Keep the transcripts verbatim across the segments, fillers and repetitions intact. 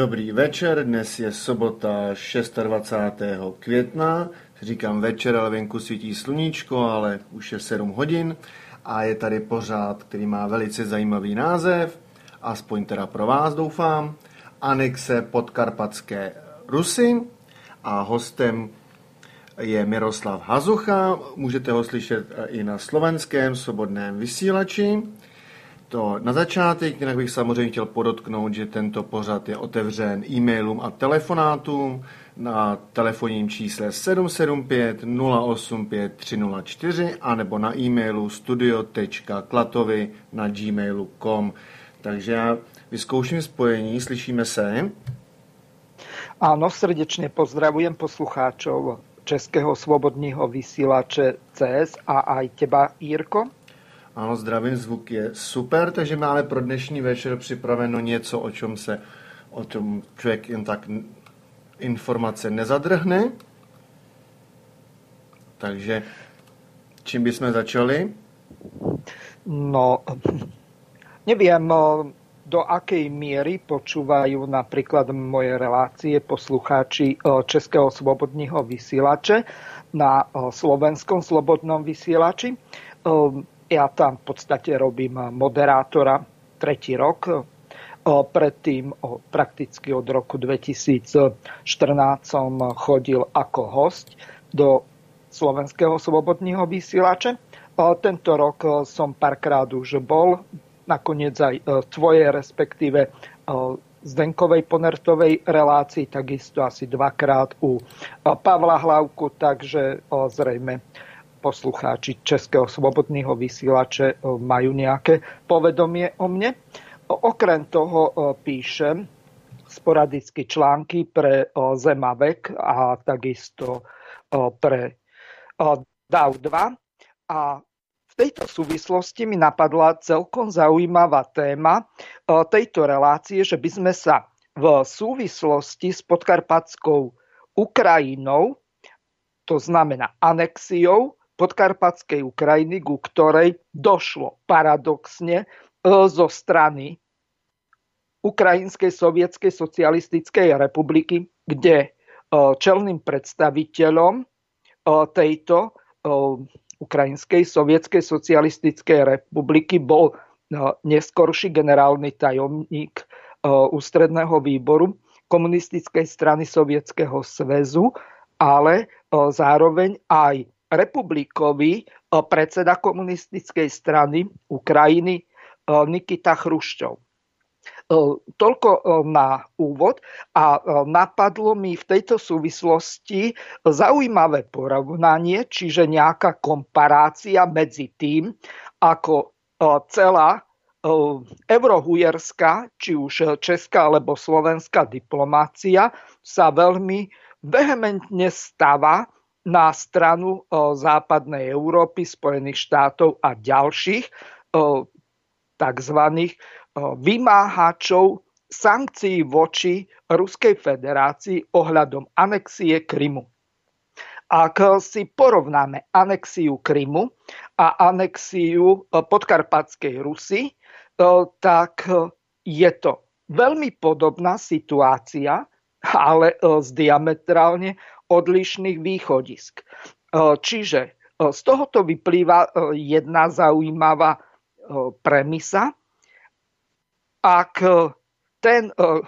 Dobrý večer, dnes je sobota dvacátého šestého května. Říkám večer, ale venku svítí sluníčko, ale už je sedm hodin a je tady pořád, který má velice zajímavý název, aspoň teda pro vás doufám, Anexe Podkarpatské Rusy a hostem je Miroslav Hazucha. Můžete ho slyšet i na slovenském svobodném vysílači. To na začátek, jinak bych samozřejmě chtěl podotknout, že tento pořad je otevřen e-mailům a telefonátům na telefonním čísle sedm sedm pět nula osm pět tři nula čtyři anebo na e-mailu studio tečka klatovy na gmailu tečka com. Takže já vyzkouším spojení, slyšíme se? Áno, srdečne pozdravujem poslucháčov Českého svobodného vysílače C S a aj teba, Jirko. Ano, zdravím, zvuk je super, takže máme pro dnešní večer připraveno něco, o čem se o tom člověk jen tak informace nezadrhne. Takže čím bychom začali? No, neviem, do akej miery počúvajú napríklad moje relácie poslucháči Českého svobodného vysielače na slovenskom slobodnom vysielači. Ja tam v podstate robím moderátora tretí rok. Predtým prakticky od roku dvetisícštrnásť som chodil ako hosť do Slovenského slobodného vysielača. Tento rok som párkrát už bol, nakoniec aj tvoje, respektíve Zdenkovej Ponertovej relácii, takisto asi dvakrát u Pavla Hlavku, takže zrejme poslucháči Českého svobodného vysielače majú nejaké povedomie o mne. Okrem toho píšem sporadicky články pre Zemavek a takisto pre D A W dva. A v tejto súvislosti mi napadla celkom zaujímavá téma tejto relácie, že by sme sa v súvislosti s podkarpatskou Ukrajinou, to znamená anexiou Podkarpatskej Ukrajiny, ku ktorej došlo paradoxne zo strany Ukrajinskej sovietskej socialistickej republiky, kde čelným predstaviteľom tejto Ukrajinskej sovietskej socialistickej republiky bol neskorší generálny tajomník ústredného výboru komunistickej strany Sovietskeho zväzu, ale zároveň aj republikový predseda komunistickej strany Ukrajiny Nikita Chruščov. Toľko na úvod a napadlo mi v tejto súvislosti zaujímavé porovnanie, čiže nejaká komparácia medzi tým, ako celá eurohujerská, či už česká alebo slovenská diplomácia sa veľmi vehementne stáva na stranu západnej Európy, Spojených štátov a ďalších tzv. Vymáhačov sankcií voči Ruskej federácii ohľadom anexie Krymu. Ak si porovnáme anexiu Krymu a anexiu Podkarpatskej Rusy, tak je to veľmi podobná situácia, ale z diametrálne odlišných východisk. Čiže z tohoto vyplýva jedna zaujímavá premisa. Ak ten,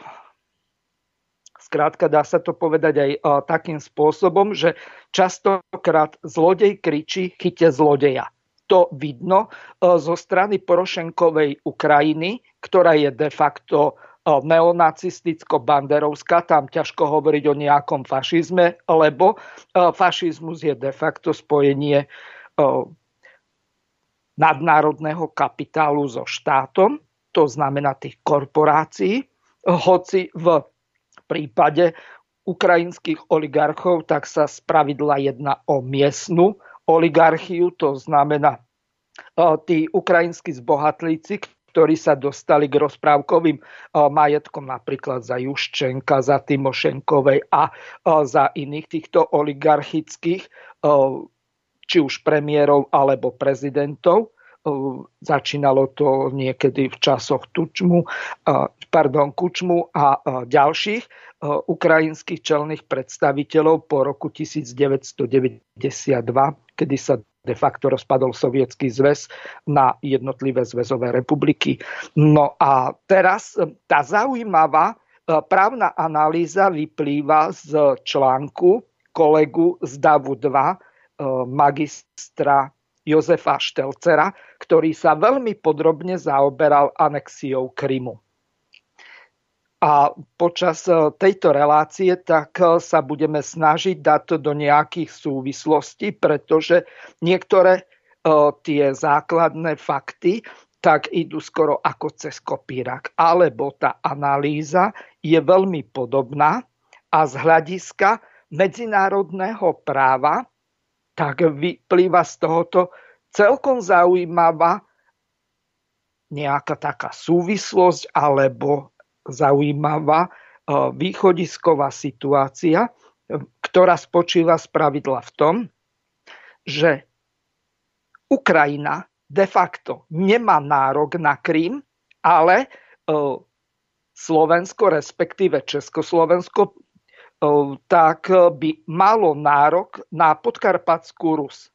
skrátka dá sa to povedať aj takým spôsobom, že častokrát zlodej kričí chyťte zlodeja. To vidno zo strany Porošenkovej Ukrajiny, ktorá je de facto neonacisticko-banderovská, tam ťažko hovoriť o nejakom fašizme, lebo fašizmus je de facto spojenie nadnárodného kapitálu so štátom, to znamená tých korporácií, hoci v prípade ukrajinských oligarchov tak sa spravidla jedná o miestnu oligarchiu, to znamená tí ukrajinskí zbohatlíci, ktorí sa dostali k rozprávkovým majetkom napríklad za Juščenka, za Timošenkovej a za iných týchto oligarchických, či už premiérov alebo prezidentov, Začínalo to niekedy v časoch Tučmu, pardon, Kučmu a ďalších ukrajinských čelných predstaviteľov po roku devätnásťstodeväťdesiatdva, kedy sa de facto rozpadol Sovietsky zväz na jednotlivé zväzové republiky. No a teraz tá zaujímavá právna analýza vyplýva z článku kolegu z davu dva, magistra Jozefa Štelcera, ktorý sa veľmi podrobne zaoberal anexiou Krymu. A počas tejto relácie tak sa budeme snažiť dať to do nejakých súvislostí, pretože niektoré tie základné fakty tak idú skoro ako cez kopírak. Alebo tá analýza je veľmi podobná a z hľadiska medzinárodného práva tak vyplýva z tohoto celkom zaujímavá nejaká taká súvislosť alebo zaujímavá východisková situácia, ktorá spočíva spravidla v tom, že Ukrajina de facto nemá nárok na Krym, ale Slovensko, respektíve Československo, tak by malo nárok na Podkarpatskú Rus.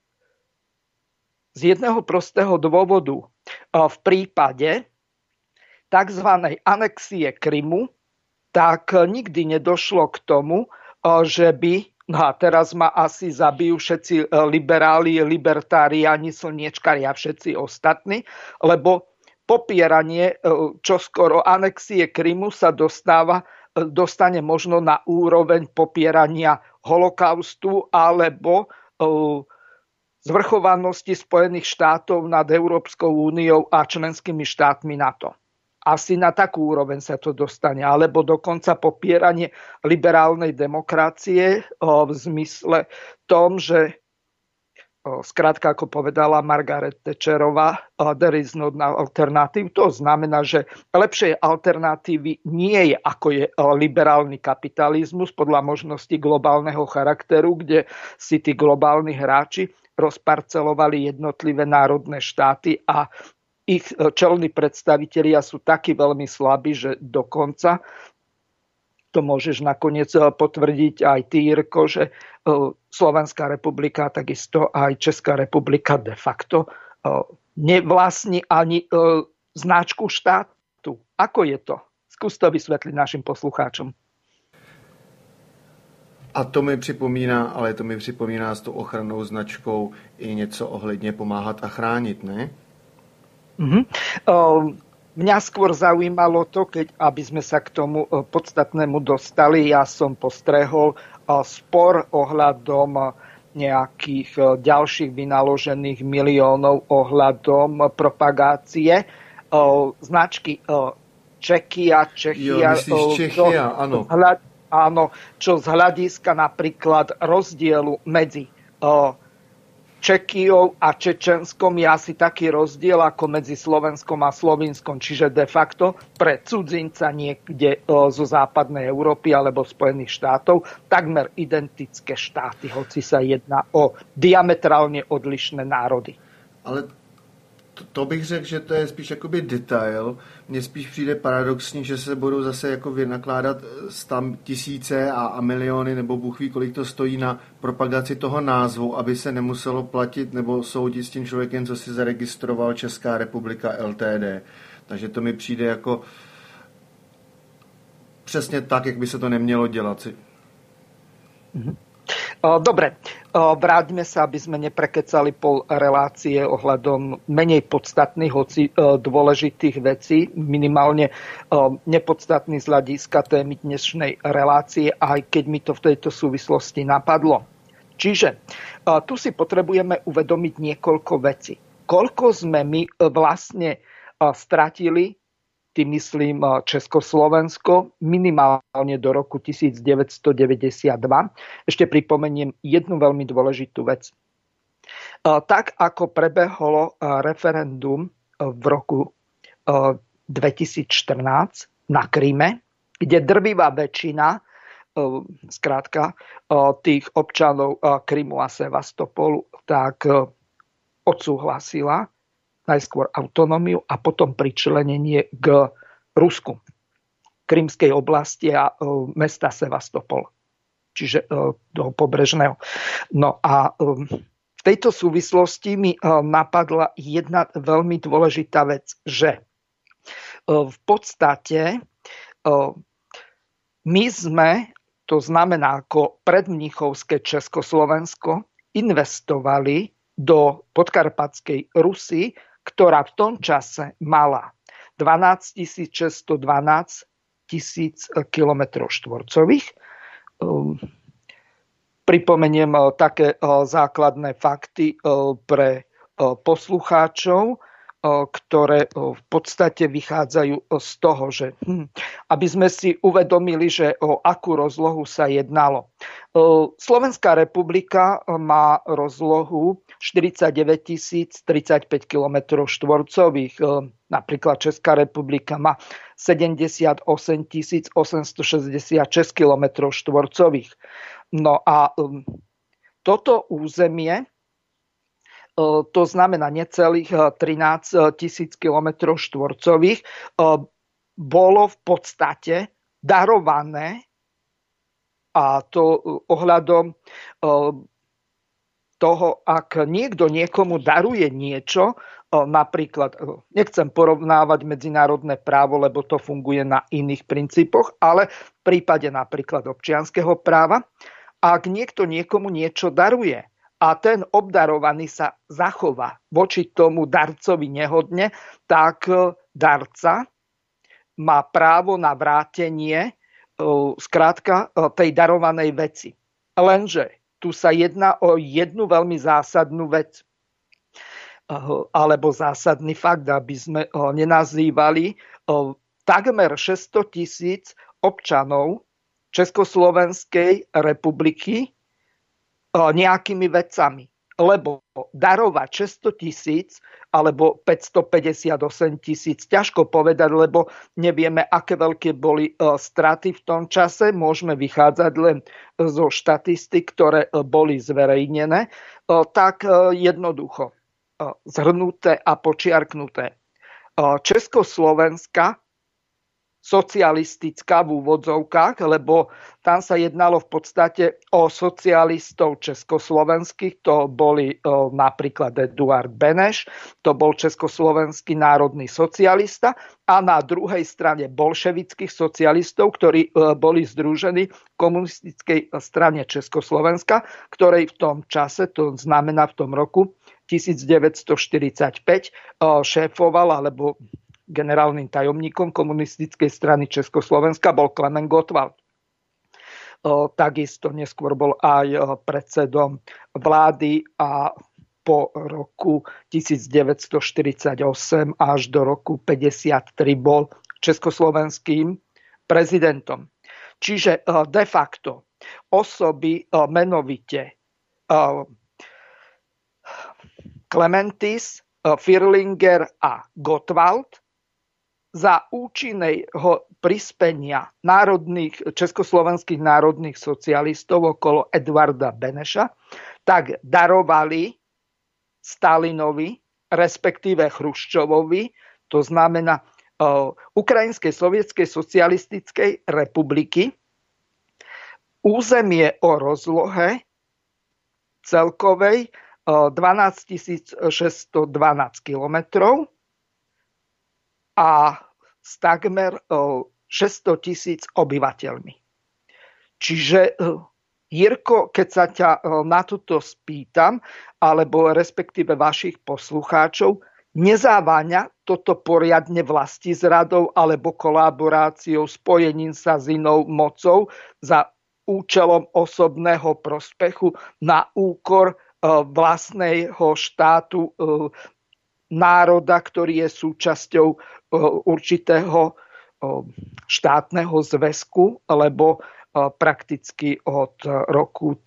Z jedného prostého dôvodu. V prípade tzv. Anexie Krymu tak nikdy nedošlo k tomu, že by, no a teraz ma asi zabijú všetci liberáli, libertáriáni, slniečkari a všetci ostatní, lebo popieranie čoskoro anexie Krymu sa dostáva dostane možno na úroveň popierania holokaustu alebo zvrchovanosti Spojených štátov nad Európskou úniou a členskými štátmi NATO. Asi na takú úroveň sa to dostane, alebo dokonca popieranie liberálnej demokracie v zmysle tom, že skrátka, ako povedala Margaret Thatcherová, there is no alternative. To znamená, že lepšej alternatívy nie je, ako je liberálny kapitalizmus podľa možností globálneho charakteru, kde si tí globálni hráči rozparcelovali jednotlivé národné štáty a ich čelní predstavitelia sú takí veľmi slabí, že dokonca to môžeš nakoniec potvrdiť aj ty, Jirko, že Slovenská republika, takisto aj Česká republika de facto nevlastní ani značku štátu. Ako je to? Skús to vysvetliť našim poslucháčom. A to mi připomíná, ale to mi připomíná s tou ochrannou značkou i něco ohledně pomáhat a chránit, ne? Mm-hmm. Um, Mňa skôr zaujímalo to, keď, aby sme sa k tomu podstatnému dostali, ja som postrehol spor ohľadom nejakých ďalších vynaložených miliónov ohľadom propagácie značky Čekia, Čechia. Jo, Čechia, áno. Áno, čo z hľadiska napríklad rozdielu medzi Čekijou a Čečenskom je asi taký rozdiel ako medzi Slovenskom a Slovinskom, čiže de facto pre cudzinca niekde zo západnej Európy alebo Spojených štátov takmer identické štáty, hoci sa jedná o diametrálne odlišné národy. Ale to, to bych řekl, že to je spíš jakoby detail. Mně spíš přijde paradoxní, že se budou zase jako vynakládat tam tisíce a, a miliony, nebo Bůh ví, kolik to stojí na propagaci toho názvu, aby se nemuselo platit nebo soudit s tím člověkem, co si zaregistroval Česká republika L T D. Takže to mi přijde jako přesně tak, jak by se to nemělo dělat. Mhm. Dobre, vráťme sa, aby sme neprekecali pol relácie ohľadom menej podstatných, hoci dôležitých vecí, minimálne nepodstatných z hľadiska témy dnešnej relácie, aj keď mi to v tejto súvislosti napadlo. Čiže tu si potrebujeme uvedomiť niekoľko vecí. Koľko sme my vlastne stratili, tým myslím Československo, minimálne do roku devätnásťstodeväťdesiatdva. Ešte pripomeniem jednu veľmi dôležitú vec. Tak ako prebehlo referendum v roku dvetisícštrnásť na Kryme, kde drvivá väčšina skrátka tých občanov Krymu a Sevastopolu tak odsúhlasila najskôr autonómiu a potom pričlenenie k Rusku, Krymskej oblasti a mesta Sevastopol, čiže do pobrežného. No a v tejto súvislosti mi napadla jedna veľmi dôležitá vec, že v podstate my sme, to znamená ako predmníchovské Československo, investovali do podkarpatskej Rusy, ktorá v tom čase mala dvanásťtisíc šesťstodvanásť tisíc kilometrov štvorcových. Pripomeniem také základné fakty pre poslucháčov, ktoré v podstate vychádzajú z toho, že hm, aby sme si uvedomili, že o akú rozlohu sa jednalo. Slovenská republika má rozlohu štyridsaťdeväť tisíc tridsaťpäť kilometrov štvorcových. Napríklad Česká republika má sedemdesiatosem tisíc osemstošesťdesiatšesť kilometrov štvorcových. No a toto územie, to znamená necelých trinásť tisíc kilometrov štvorcových, bolo v podstate darované, a to ohľadom toho, ak niekto niekomu daruje niečo, napríklad, nechcem porovnávať medzinárodné právo, lebo to funguje na iných princípoch, ale v prípade napríklad občianskeho práva, ak niekto niekomu niečo daruje, a ten obdarovaný sa zachová voči tomu darcovi nehodne, tak darca má právo na vrátenie skrátka tej darovanej veci. Lenže tu sa jedná o jednu veľmi zásadnú vec, alebo zásadný fakt, aby sme nenazývali takmer šesťsto tisíc občanov Československej republiky nejakými vecami. Lebo darovať šesťsto tisíc alebo päťstopäťdesiatosem tisíc, ťažko povedať, lebo nevieme, aké veľké boli straty v tom čase. Môžeme vychádzať len zo štatistik, ktoré boli zverejnené. Tak jednoducho zhrnuté a počiarknuté. Československá socialistická v úvodzovkách, lebo tam sa jednalo v podstate o socialistov československých, to boli o, napríklad Eduard Beneš, to bol československý národný socialista, a na druhej strane bolševických socialistov, ktorí e, boli združení v komunistickej strane Československa, ktorej v tom čase, to znamená v tom roku devätnásťstoštyridsaťpäť, e, šéfoval, alebo generálnym tajomníkom komunistickej strany Československa bol Klement Gottwald. Takisto neskôr bol aj predsedom vlády a po roku devätnásťstoštyridsaťosem až do roku päťdesiattri bol československým prezidentom. Čiže de facto osoby menovite Klementis, Firlinger a Gottwald za účinného prispenia národných, československých národných socialistov okolo Eduarda Beneša, tak darovali Stalinovi, respektíve Chruščovovi, to znamená uh, Ukrajinskej sovietskej socialistickej republiky, územie o rozlohe celkovej uh, dvanásťtisíc šesťstodvanásť kilometrov a s takmer šesťsto tisíc obyvateľmi. Čiže, Jirko, keď sa ťa na toto spýtam, alebo respektíve vašich poslucháčov, nezáváňa toto poriadne vlastizradou alebo kolaboráciou, spojením sa s inou mocou za účelom osobného prospechu na úkor vlastného štátu, národa, ktorý je súčasťou určitého štátneho zväzku, lebo prakticky od roku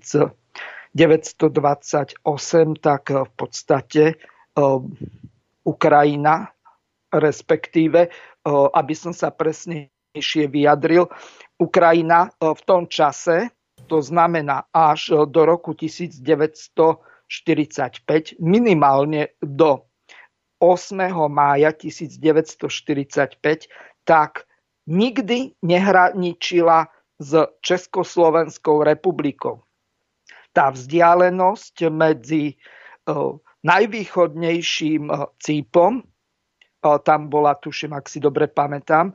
devätnásťstodvadsaťosem tak v podstate Ukrajina, respektíve, aby som sa presnejšie vyjadril, Ukrajina v tom čase, to znamená až do roku devätnásťstoštyridsaťpäť, minimálne do ôsmeho mája tisícdeväťstoštyridsaťpäť, tak nikdy nehraničila s Československou republikou. Tá vzdialenosť medzi najvýchodnejším Cípom, tam bola, tuším, ak si dobre pamätám,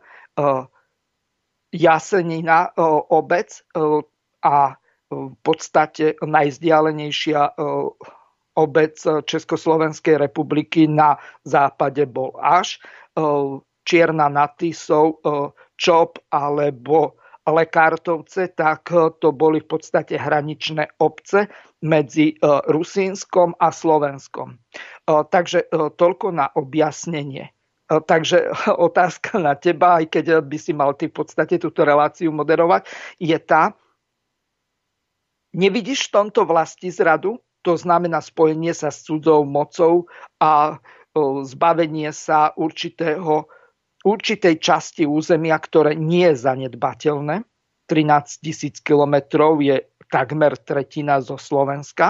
Jasenina obec a v podstate najvzdialenejšia obec Československej republiky na západe bol až Čierna nad Tisou, Čop alebo Lekártovce, tak to boli v podstate hraničné obce medzi Rusínskom a Slovenskom. Takže toľko na objasnenie. Takže otázka na teba, aj keď by si mal ty v podstate túto reláciu moderovať, je tá, nevidíš v tomto vlastizradu, to znamená spojenie sa s cudzou mocou a zbavenie sa určitého určitej časti územia, ktoré nie je zanedbateľné. trinásť tisíc kilometrov je takmer tretina zo Slovenska.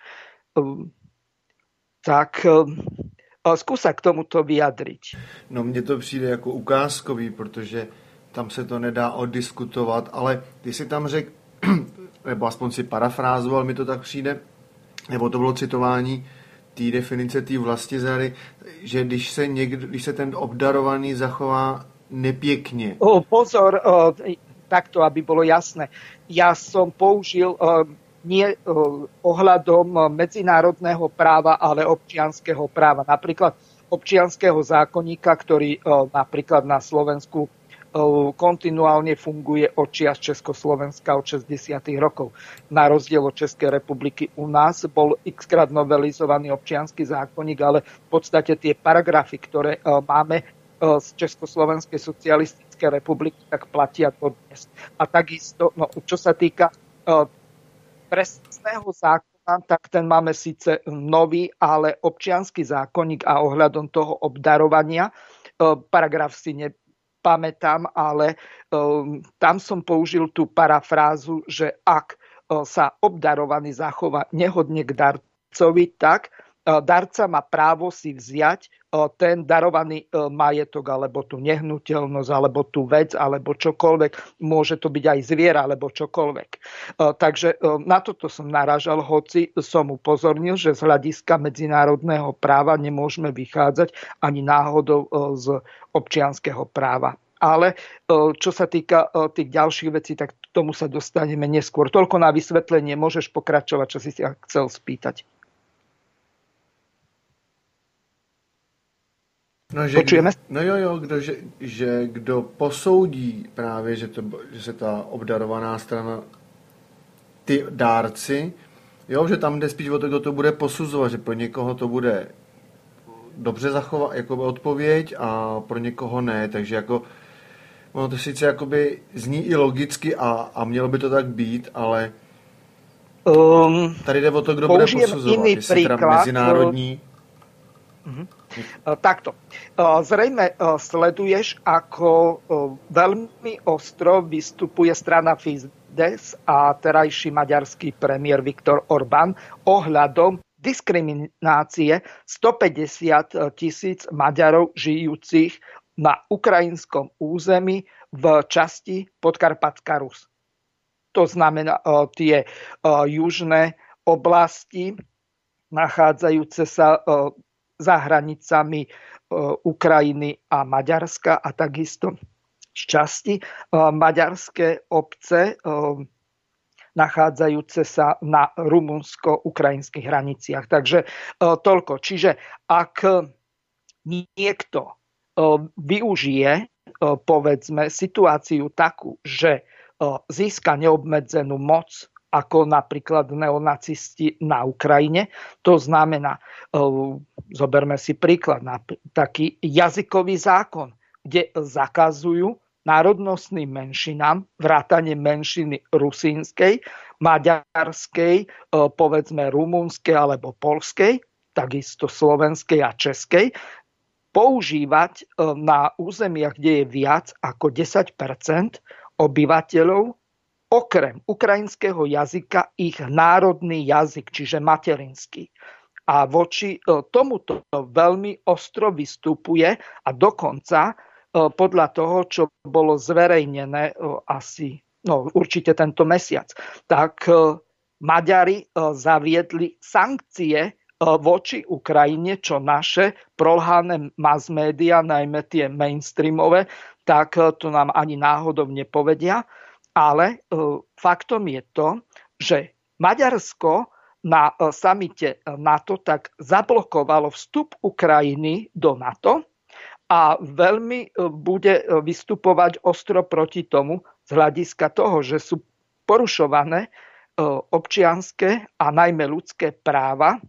Tak skús sa k tomuto vyjadriť. No mne to přijde jako ukázkový, protože tam se to nedá oddiskutovat, ale ty si tam řekl, nebo aspoň si parafrázoval, mi to tak přijde, nebo to bylo citování té definice té vlastizrady, že když se, někdo, když se ten obdarovaný zachová nepěkně. O, pozor, o, takto, aby bolo jasné. Ja som použil o, nie o, ohľadom medzinárodného práva, ale občianskeho práva. Napríklad občianskeho zákonníka, ktorý o, napríklad na Slovensku kontinuálne funguje od čias Československa od šesťdesiatych rokov. Na rozdiel od Českej republiky u nás bol x-krát novelizovaný občiansky zákonník, ale v podstate tie paragrafy, ktoré máme z Československej socialistickej republiky, tak platia dodnes. A takisto, no, čo sa týka trestného zákona, tak ten máme síce nový, ale občiansky zákonník a ohľadom toho obdarovania, paragraf si ne pamätám, ale um, tam som použil tú parafrázu, že ak uh, sa obdarovaný zachová nehodne k darcovi, tak uh, darca má právo si vziať uh, ten darovaný uh, majetok, alebo tú nehnuteľnosť, alebo tú vec, alebo čokoľvek. Môže to byť aj zviera, alebo čokoľvek. Uh, takže uh, na toto som narážal, hoci som upozornil, že z hľadiska medzinárodného práva nemôžeme vychádzať ani náhodou uh, z občianskeho práva. Ale čo sa týka tých ďalších vecí, tak k tomu sa dostaneme neskôr. Toľko na vysvetlenie, môžeš pokračovať, čo si sa chcel spýtať. No, že Počujeme? Kdo, no jo, jo, kdo, že, že kdo posoudí právě, že, to, že se ta obdarovaná strana, ty dárci, jo, že tam jde spíš o to, kdo to bude posuzovat, že pro někoho to bude dobře zachovat, jako odpověď a pro někoho ne, takže jako ono to sice jakoby zní i logicky a, a mělo by to tak být, ale um, tady jde o to, kdo bude posuzovat, jestli teda mezinárodní. Uh-huh. Takto. Zrejme sleduješ, ako veľmi ostro vystupuje strana Fidesz a terajší maďarský premiér Viktor Orbán ohľadom diskriminácie stopäťdesiat tisíc Maďarov žijúcich na ukrajinskom území v časti Podkarpatská Rus. To znamená tie južné oblasti nachádzajúce sa za hranicami Ukrajiny a Maďarska a takisto z časti maďarské obce nachádzajúce sa na rumunsko-ukrajinských hraniciach. Takže toľko. Čiže ak niekto využije, povedzme, situáciu takú, že získa neobmedzenú moc, ako napríklad neonacisti na Ukrajine, to znamená, zoberme si príklad, taký jazykový zákon, kde zakazujú národnostným menšinám, vrátane menšiny rusínskej, maďarskej, povedzme rumunskej alebo poľskej, takisto slovenskej a českej, používať na územiach, kde je viac ako desať percent obyvateľov, okrem ukrajinského jazyka ich národný jazyk, čiže materinský. a voči tomuto veľmi ostro vystupuje a dokonca podľa toho, čo bolo zverejnené asi no, určite tento mesiac, tak Maďari zaviedli sankcie voči Ukrajine, čo naše prolhané mass média, najmä tie mainstreamové, tak to nám ani náhodou nepovedia. Ale faktom je to, že Maďarsko na samite NATO tak zablokovalo vstup Ukrajiny do NATO a veľmi bude vystupovať ostro proti tomu z hľadiska toho, že sú porušované občianske a najmä ľudské práva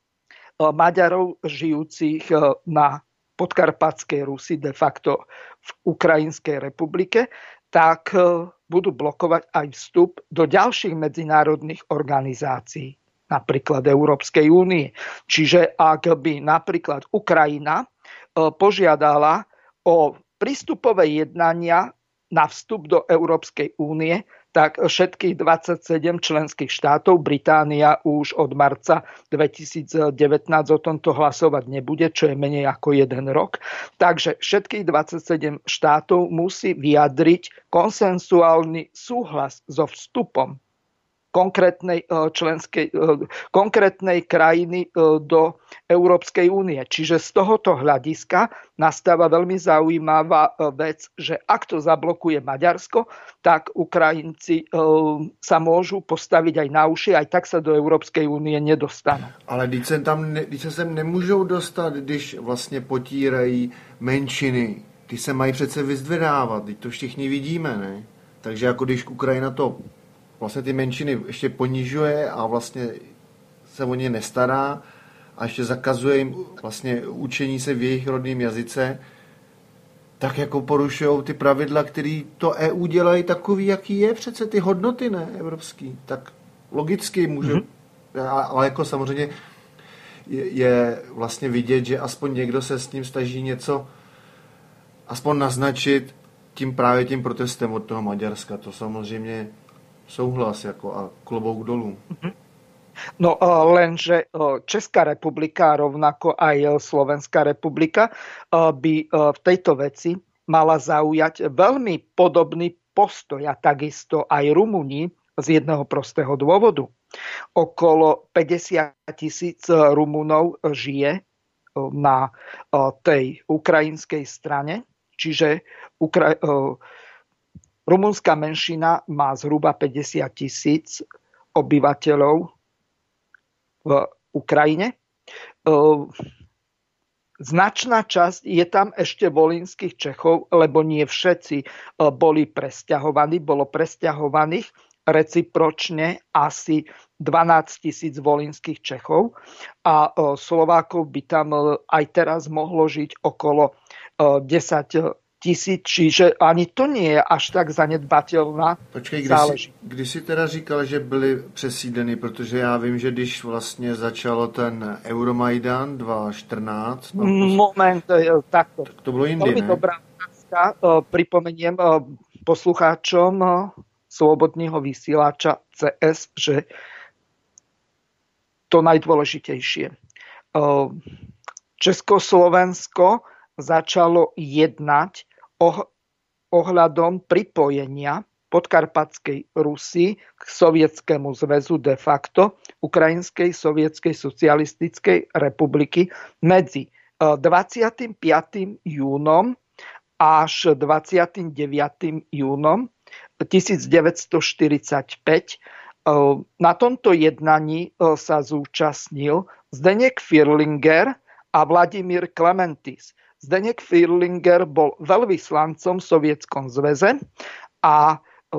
Maďarov žijúcich na podkarpatskej Rusi, de facto v Ukrajinskej republike, tak budú blokovať aj vstup do ďalších medzinárodných organizácií, napríklad Európskej únie. Čiže ak by napríklad Ukrajina požiadala o prístupové jednania na vstup do Európskej únie, tak všetkých dvadsaťsedem členských štátov, Británia už od marca dvetisícdevätnásť o tomto hlasovať nebude, čo je menej ako jeden rok. Takže všetkých dvadsaťsedem štátov musí vyjadriť konsensuálny súhlas so vstupom konkrétnej členskej, konkrétnej krajiny do Európskej únie. Čiže z tohoto hľadiska nastáva veľmi zaujímavá vec, že ak to zablokuje Maďarsko, tak Ukrajinci sa môžu postaviť aj na uši, aj tak sa do Európskej únie nedostanú. Ale když se, tam, když se sem nemůžou dostat, když vlastně potírají menšiny, ty se mají přece vyzdvědávat, teď to všichni vidíme, ne? Takže jako když Ukrajina to vlastně ty menšiny ještě ponižuje a vlastně se o ně nestará a ještě zakazuje jim vlastně učení se v jejich rodném jazyce, tak jako porušují ty pravidla, které to E U dělají takový, jaký je přece ty hodnoty, ne, evropský. Tak logicky může, mm-hmm. ale jako samozřejmě je, je vlastně vidět, že aspoň někdo se s tím snaží něco aspoň naznačit tím právě tím protestem od toho Maďarska. To samozřejmě souhlas jako a klobouk dolů. No lenže Česká republika, rovnako aj Slovenská republika by v tejto veci mala zaujať veľmi podobný postoj a takisto aj Rumúni z jedného prostého dôvodu. Okolo päťdesiat tisíc Rumunov žije na tej ukrajinskej strane, čiže Ukra- rumunská menšina má zhruba päťdesiat tisíc obyvateľov v Ukrajine. Značná časť je tam ešte volinských Čechov, lebo nie všetci boli presťahovaní. Bolo presťahovaných recipročne asi dvanásť tisíc volinských Čechov a Slovákov by tam aj teraz mohlo žiť okolo desať tisíc, čiže ani to nie je až tak zanedbatelná Počkej, záležitosť. Kdy jsi teda říkal, že byli přesídleni, protože já vím, že když vlastně začalo ten Euromajdan dva tisíce čtrnáct... No, Moment, takto. Tak to bylo jindy, Veľmi ne? dobrá otázka. Pripomeniem poslucháčom Slobodného vysielača cé es, že to najdôležitejšie. Československo začalo jednať ohľadom pripojenia podkarpatskej Rusy k Sovietskému zväzu de facto Ukrajinskej sovietskej socialistickej republiky medzi dvadsiatym piatym júnom až dvadsiatym deviatym júnom devätnásťstoštyridsaťpäť. Na tomto jednaní sa zúčastnil Zdeněk Firlinger a Vladimír Klementis. Zdeněk Firlinger bol veľvyslancom v Sovietskom zväze a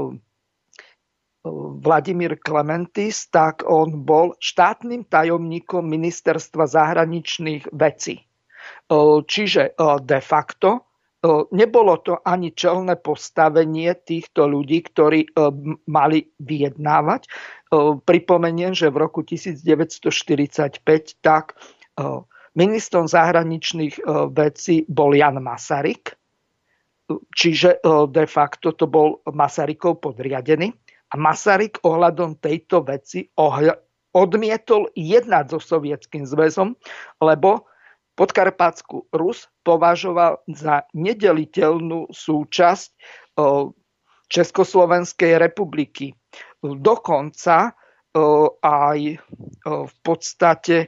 Vladimír Klementis, tak on bol štátnym tajomníkom ministerstva zahraničných vecí. Čiže de facto nebolo to ani čelné postavenie týchto ľudí, ktorí mali vyjednávať. Pripomeniem, že v roku devätnásťstoštyridsaťpäť tak ministrom zahraničných vecí bol Jan Masaryk, čiže de facto to bol Masarykov podriadený. A Masaryk ohľadom tejto veci odmietol jednať so Sovietským zväzom, lebo Podkarpatskú Rus považoval za nedeliteľnú súčasť Československej republiky. Dokonca aj v podstate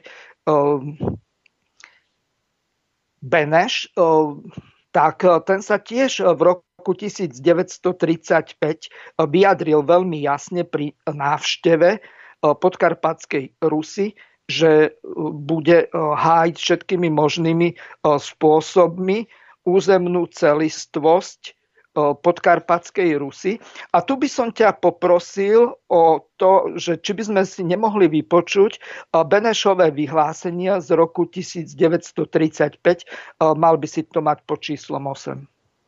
Beneš, tak ten sa tiež v roku devätnásťtridsaťpäť vyjadril veľmi jasne pri návšteve Podkarpatskej Rusy, že bude hájiť všetkými možnými spôsobmi územnú celistvosť Podkarpatskej Rusy. A tu by som ťa poprosil o to, že či by sme si nemohli vypočuť Benešové vyhlásenia z roku devätnásťtridsaťpäť. Mal by si to mať pod číslom osem.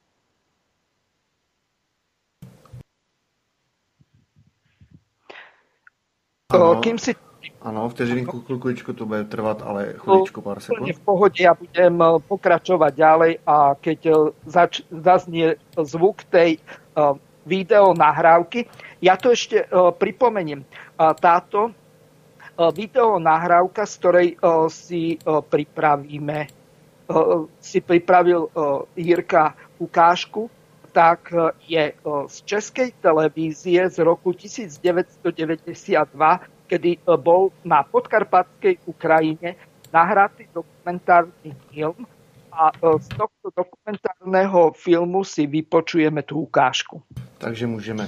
Ano. Kým si Ano, vteřinku, chvíľku to bude trvať, ale chvíľučku, pár sekúnd. V pohode, ja budem pokračovať ďalej a keď zač- zaznie zvuk tej uh, video nahrávky, ja to ešte uh, pripomeniem. Uh, táto uh, video nahrávka, z ktorej uh, si uh, pripravíme, uh, si pripravil uh, Jirka ukážku, tak uh, je uh, z Českej televízie z roku devätnásťstodeväťdesiatdva, kedy bol na podkarpatskej Ukrajine nahratý dokumentárny film a z tohto dokumentárneho filmu si vypočujeme tú ukážku. Takže můžeme.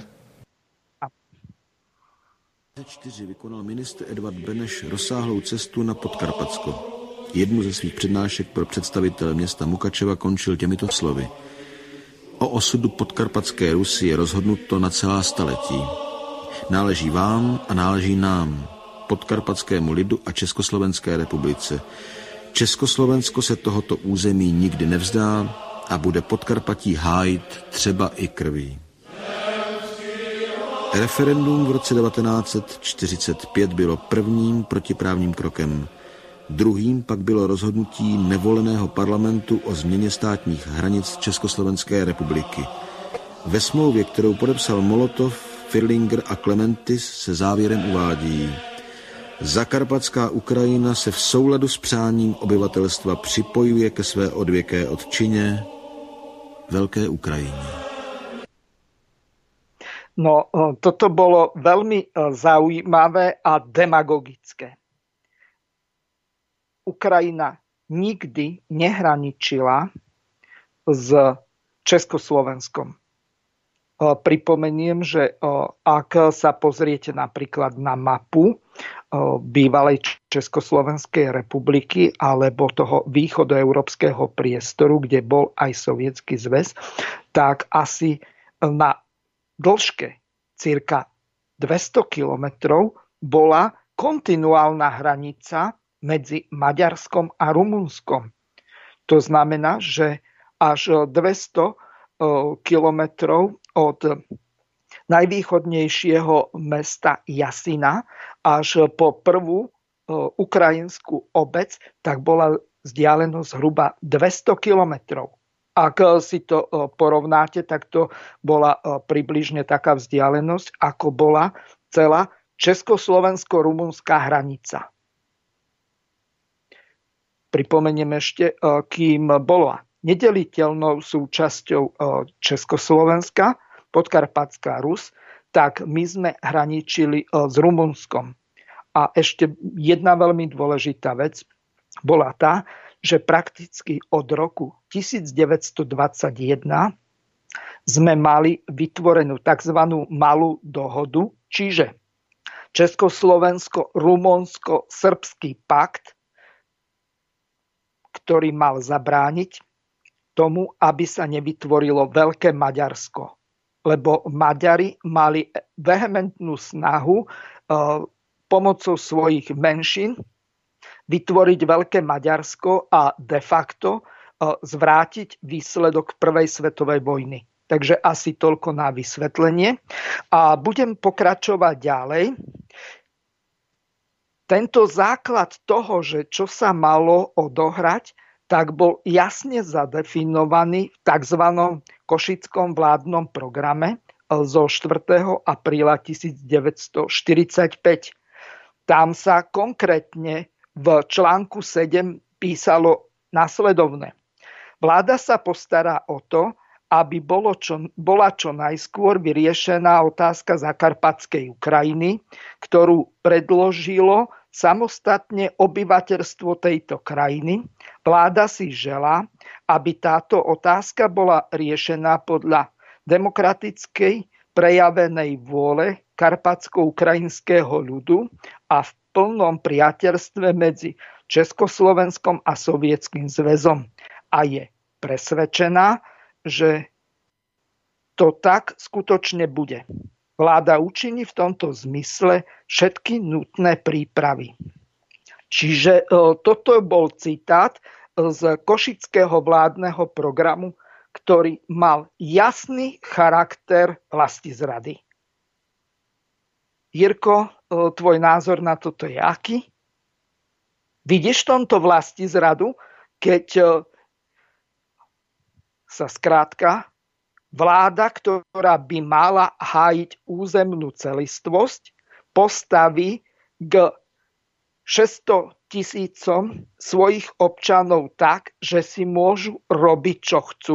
čtyři vykonal ministr Edvard Beneš rozsáhlou cestu na Podkarpatsko. Jednu ze svých přednášek pro představitele města Mukačeva končil těmito slovy. O osudu Podkarpatské Rusy je rozhodnuto na celá staletí. Náleží vám a náleží nám, podkarpatskému lidu a Československé republice. Československo se tohoto území nikdy nevzdá a bude Podkarpatí hájit třeba i krví. Referendum v roce devatenáct set čtyřicet pět bylo prvním protiprávním krokem. Druhým pak bylo rozhodnutí nevoleného parlamentu o změně státních hranic Československé republiky. Ve smlouvě, kterou podepsal Molotov, Firlinger a Klementis, se závěrem uvádí: Zakarpatská Ukrajina se v souladu s přáním obyvatelstva připojuje ke své odvěké odčině Velké Ukrajině. No, toto bolo veľmi zaujímavé a demagogické. Ukrajina nikdy nehraničila s Československom. Pripomeniem, že ak sa pozriete napríklad na mapu bývalej Československej republiky alebo toho východoeurópskeho priestoru, kde bol aj Sovietsky zväz, tak asi na dĺžke cirka dvesto kilometrov bola kontinuálna hranica medzi Maďarskom a Rumunskom. To znamená, že až dvesto kilometrov od najvýchodnejšieho mesta Jasina až po prvú ukrajinskú obec, tak bola vzdialenosť zhruba dvesto kilometrov. Ak si to porovnáte, tak to bola približne taká vzdialenosť, ako bola celá československo-rumunská hranica. Pripomeniem ešte, kým bola nedeliteľnou súčasťou Československa, Podkarpatská Rus, tak my sme hraničili s Rumunskom. A ešte jedna veľmi dôležitá vec bola tá, že prakticky od roku devätnásťstodvadsaťjeden sme mali vytvorenú tzv. Malú dohodu, čiže Československo-Rumunsko-Srbský pakt, ktorý mal zabrániť tomu, aby sa nevytvorilo Veľké Maďarsko. Lebo Maďari mali vehementnú snahu e, pomocou svojich menšín vytvoriť Veľké Maďarsko a de facto e, zvrátiť výsledok Prvej svetovej vojny. Takže asi toľko na vysvetlenie. A budem pokračovať ďalej. Tento základ toho, že čo sa malo odohrať, tak bol jasne zadefinovaný v tzv. Košickom vládnom programe zo štvrtého apríla devätnásťstoštyridsaťpäť. Tam sa konkrétne v článku sedem písalo nasledovné. Vláda sa postará o to, aby bolo čo, bola čo najskôr vyriešená otázka Zakarpatskej Ukrajiny, ktorú predložilo samostatne obyvateľstvo tejto krajiny. Vláda si želá, aby táto otázka bola riešená podľa demokratickej prejavenej vôle karpatsko-ukrajinského ľudu a v plnom priateľstve medzi Československom a Sovietským zväzom. A je presvedčená, že to tak skutočne bude. Vláda učiní v tomto zmysle všetky nutné prípravy. Čiže toto bol citát z košického vládneho programu, ktorý mal jasný charakter vlastizrady. Jirko, tvoj názor na toto je aký? Vidíš v tomto vlastizradu, keď sa skrátka vláda, ktorá by mala hájiť územnú celistvosť, postaví k šesťsto tisícom svojich občanov tak, že si môžu robiť, čo chcú?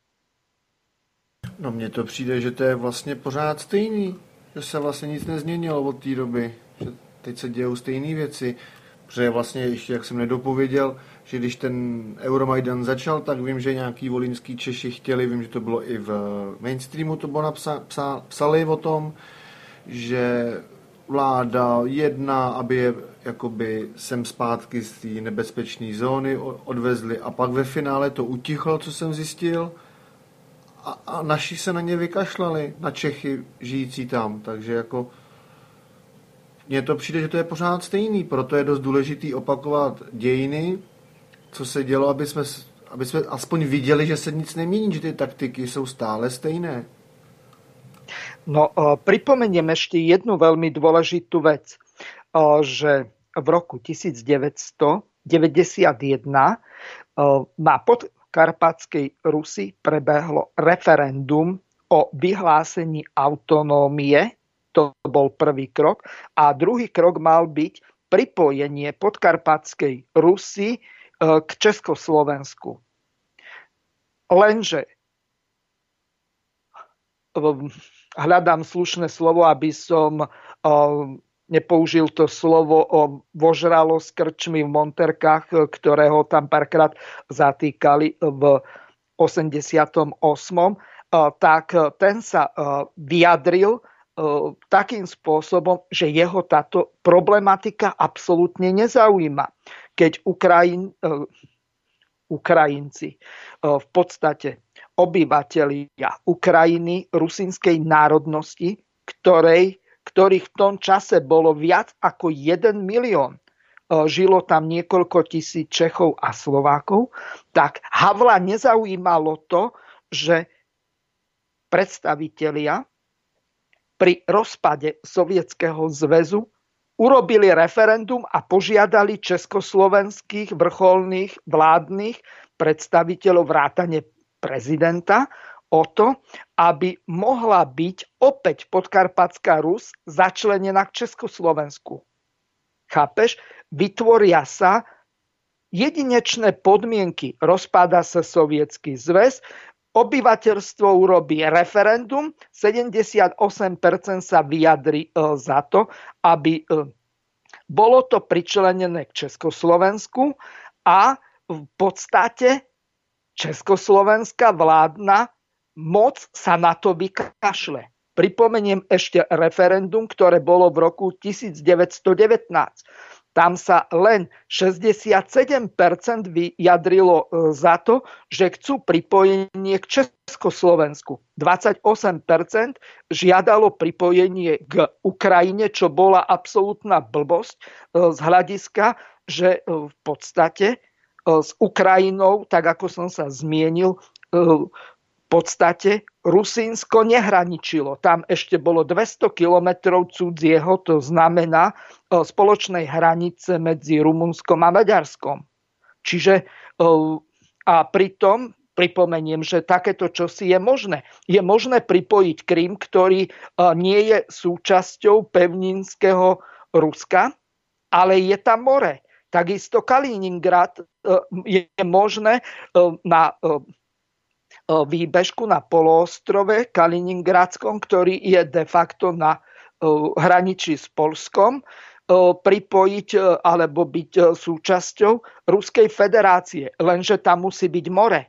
No mně to přijde, že to je vlastně pořád stejný. Že se vlastně nic nezměnilo od té doby. Že teď se dějou stejné věci. Protože vlastně ještě, jak jsem nedopověděl, že když ten Euromajdan začal, tak vím, že nějaký volínský Češi chtěli, vím, že to bylo i v mainstreamu, to bylo napsa, psa, psali o tom, že vláda jedná, aby je jakoby sem zpátky z té nebezpečné zóny odvezli a pak ve finále to utichlo, co jsem zjistil, a, a naši se na ně vykašlali, na Čechy žijící tam, takže jako mně to přijde, že to je pořád stejný, proto je dost důležitý opakovat dějiny, co se dělo, aby jsme, aby jsme aspoň viděli, že se nic nemění, že ty taktiky jsou stále stejné. No, pripomeniem ešte jednu veľmi dôležitú vec, že v roku devätnásťstodeväťdesiatjeden na podkarpatskej Rusi prebehlo referendum o vyhlásení autonómie. To bol prvý krok. A druhý krok mal byť pripojenie podkarpatskej Rusy k Československu. Lenže hľadám slušné slovo, aby som nepoužil to slovo o vožralosť krčmy v Monterkách, ktorého tam párkrát zatýkali v osemdesiatom ôsmom tak ten sa vyjadril takým spôsobom, že jeho táto problematika absolútne nezaujíma. Keď Ukrajin, Ukrajinci v podstate obyvatelia Ukrajiny rusínskej národnosti, ktorej, ktorých v tom čase bolo viac ako jeden milión, žilo tam niekoľko tisíc Čechov a Slovákov, tak Havla nezaujímalo to, že predstavitelia pri rozpade Sovietskeho zväzu urobili referendum a požiadali československých vrcholných vládnych predstaviteľov vrátane prezidenta o to, aby mohla byť opäť Podkarpatská Rus začlenená k Československu. Chápeš? Vytvoria sa jedinečné podmienky. Rozpada sa Sovietsky zväz, obyvateľstvo urobí referendum, sedemdesiatosem percent sa vyjadri za to, aby bolo to pričlenené k Československu a v podstate československá vládna moc sa na to vykašle. Pripomeniem ešte referendum, ktoré bolo v roku devätnásťstodevätnásť. Tam sa len šesťdesiatsedem percent vyjadrilo za to, že chcú pripojenie k Československu. dvadsaťosem percent žiadalo pripojenie k Ukrajine, čo bola absolútna blbosť z hľadiska, že v podstate s Ukrajinou, tak ako som sa zmienil, v podstate Rusínsko nehraničilo. Tam ešte bolo dvesto kilometrov cudzieho, to znamená spoločnej hranice medzi Rumunskom a Maďarskom. Čiže a pritom pripomeniem, že takéto čosi je možné. Je možné pripojiť Krym, ktorý nie je súčasťou pevninského Ruska, ale je tam more. Takisto Kaliningrad je možné na výbežku na poloostrove Kaliningradskom, ktorý je de facto na hraničí s Poľskom, pripojiť alebo byť súčasťou Ruskej federácie. Lenže tam musí byť more.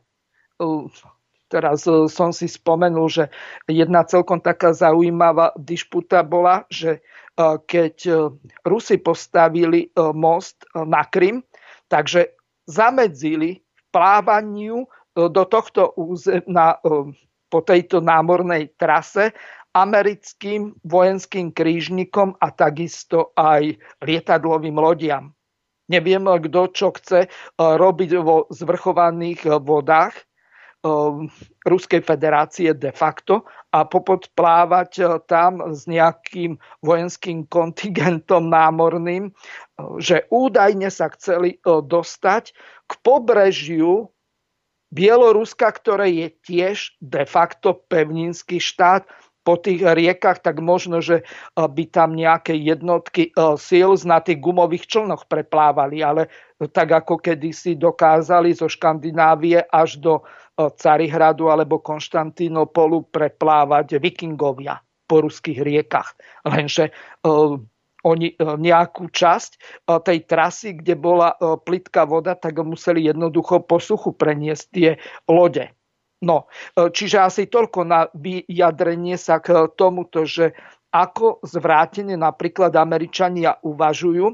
Teraz som si spomenul, že jedna celkom taká zaujímavá dišputa bola, že keď Rusi postavili most na Krym, takže zamedzili plávaniu do tohto územia po tejto námornej trase americkým vojenským krížnikom a takisto aj lietadlovým lodiam. Neviem, kto čo chce robiť vo zvrchovaných vodách Ruskej federácie de facto a popodplávať tam s nejakým vojenským kontingentom námorným, že údajne sa chceli dostať k pobrežiu Bieloruska, ktoré je tiež de facto pevninský štát. Po tých riekach, tak možno, že by tam nejaké jednotky síl na tých gumových člnoch preplávali, ale tak ako kedysi dokázali zo Škandinávie až do Carihradu alebo Konštantínopolu preplávať vikingovia po ruských riekach. Lenže oni nejakú časť tej trasy, kde bola plitká voda, tak museli jednoducho po suchu preniesť tie lode. No, čiže asi toľko na vyjadrenie sa k tomuto, že ako zvrátene napríklad Američania uvažujú,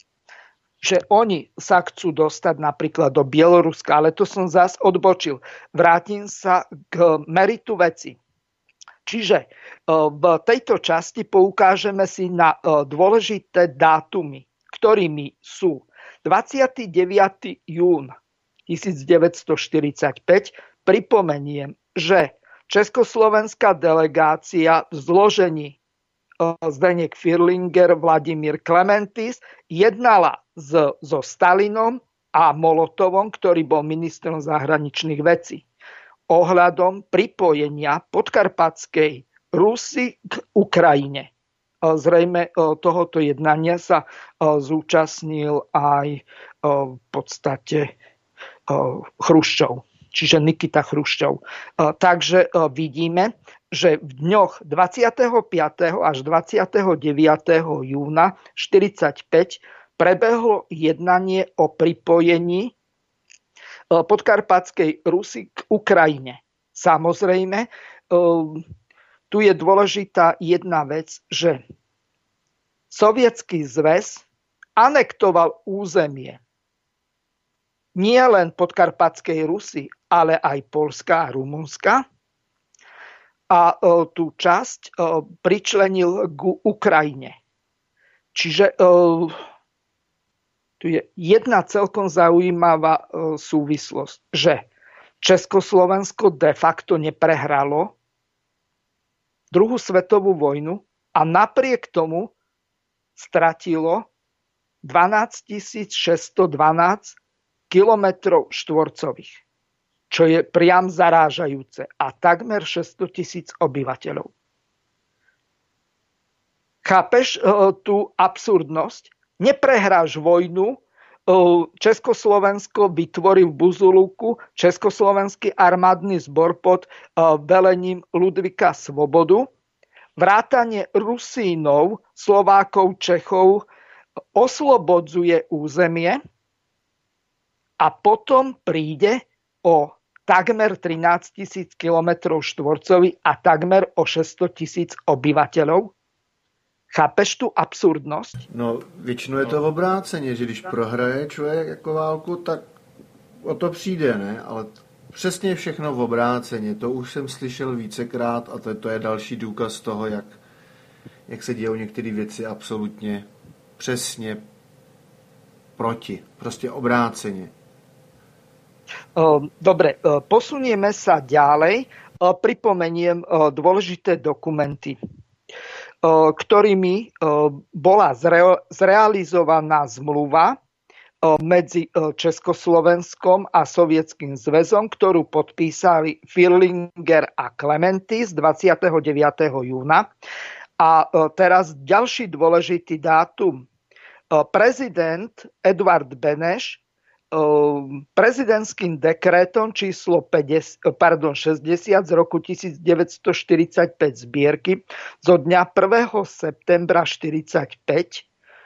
že oni sa chcú dostať napríklad do Bieloruska, ale to som zas odbočil. Vrátim sa k meritu veci. Čiže v tejto časti poukážeme si na dôležité dátumy, ktorými sú dvadsiateho deviateho júna tisícdeväťstoštyridsaťpäť. Pripomeniem, že československá delegácia v zložení Zdeněk Firlinger, Vladimír Klementis jednala s, so Stalinom a Molotovom, ktorý bol ministrom zahraničných vecí, ohľadom pripojenia podkarpatskej Rusy k Ukrajine. Zrejme tohoto jednania sa zúčastnil aj v podstate Chruščov, čiže Nikita Chruščov. Takže vidíme, že v dňoch dvadsiateho piateho až dvadsiateho deviateho júna štyridsaťpäť prebehlo jednanie o pripojení podkarpatskej Rusy k Ukrajine. Samozrejme, tu je dôležitá jedna vec, že Sovietsky zväz anektoval územie nie len podkarpatskej Rusy, ale aj Poľska a Rumunska a tú časť pričlenil k Ukrajine. Čiže tu je jedna celkom zaujímavá súvislosť, že Československo de facto neprehralo druhú svetovú vojnu a napriek tomu stratilo dvanásťtisícšesťstodvanásť kilometrov štvorcových, čo je priam zarážajúce, a takmer šesťstotisíc obyvateľov. Chápeš tú absurdnosť? Neprehráš vojnu, Československo vytvorí v Buzulúku Československý armádny zbor pod velením Ludvíka Svobodu, vrátane Rusínov, Slovákov, Čechov oslobodzuje územie a potom príde o takmer trinásťtisíc kilometrov štvorcových a takmer o šesťstotisíc obyvateľov. Chápeš tu absurdnosť? No, většinou je to obráceně, že když prohraje člověk jako válku, tak o to přijde, ne? Ale přesně všechno v obráceně. To už jsem slyšel vícekrát a to, to je další důkaz toho, jak, jak se dějou některé věci absolutně přesně proti. Prostě obráceně. Dobre, posunieme sa ďalej. Pripomeniem dôležité dokumenty, ktorými bola zrealizovaná zmluva medzi Československom a Sovietským zväzom, ktorú podpísali Firlinger a Klementis dvadsiateho deviateho júna. A teraz ďalší dôležitý dátum. prezident Eduard Beneš prezidentským dekrétom číslo päťdesiat, pardon, šesťdesiat z roku devätnásťstoštyridsaťpäť zbierky zo dňa prvého septembra štyridsaťpäť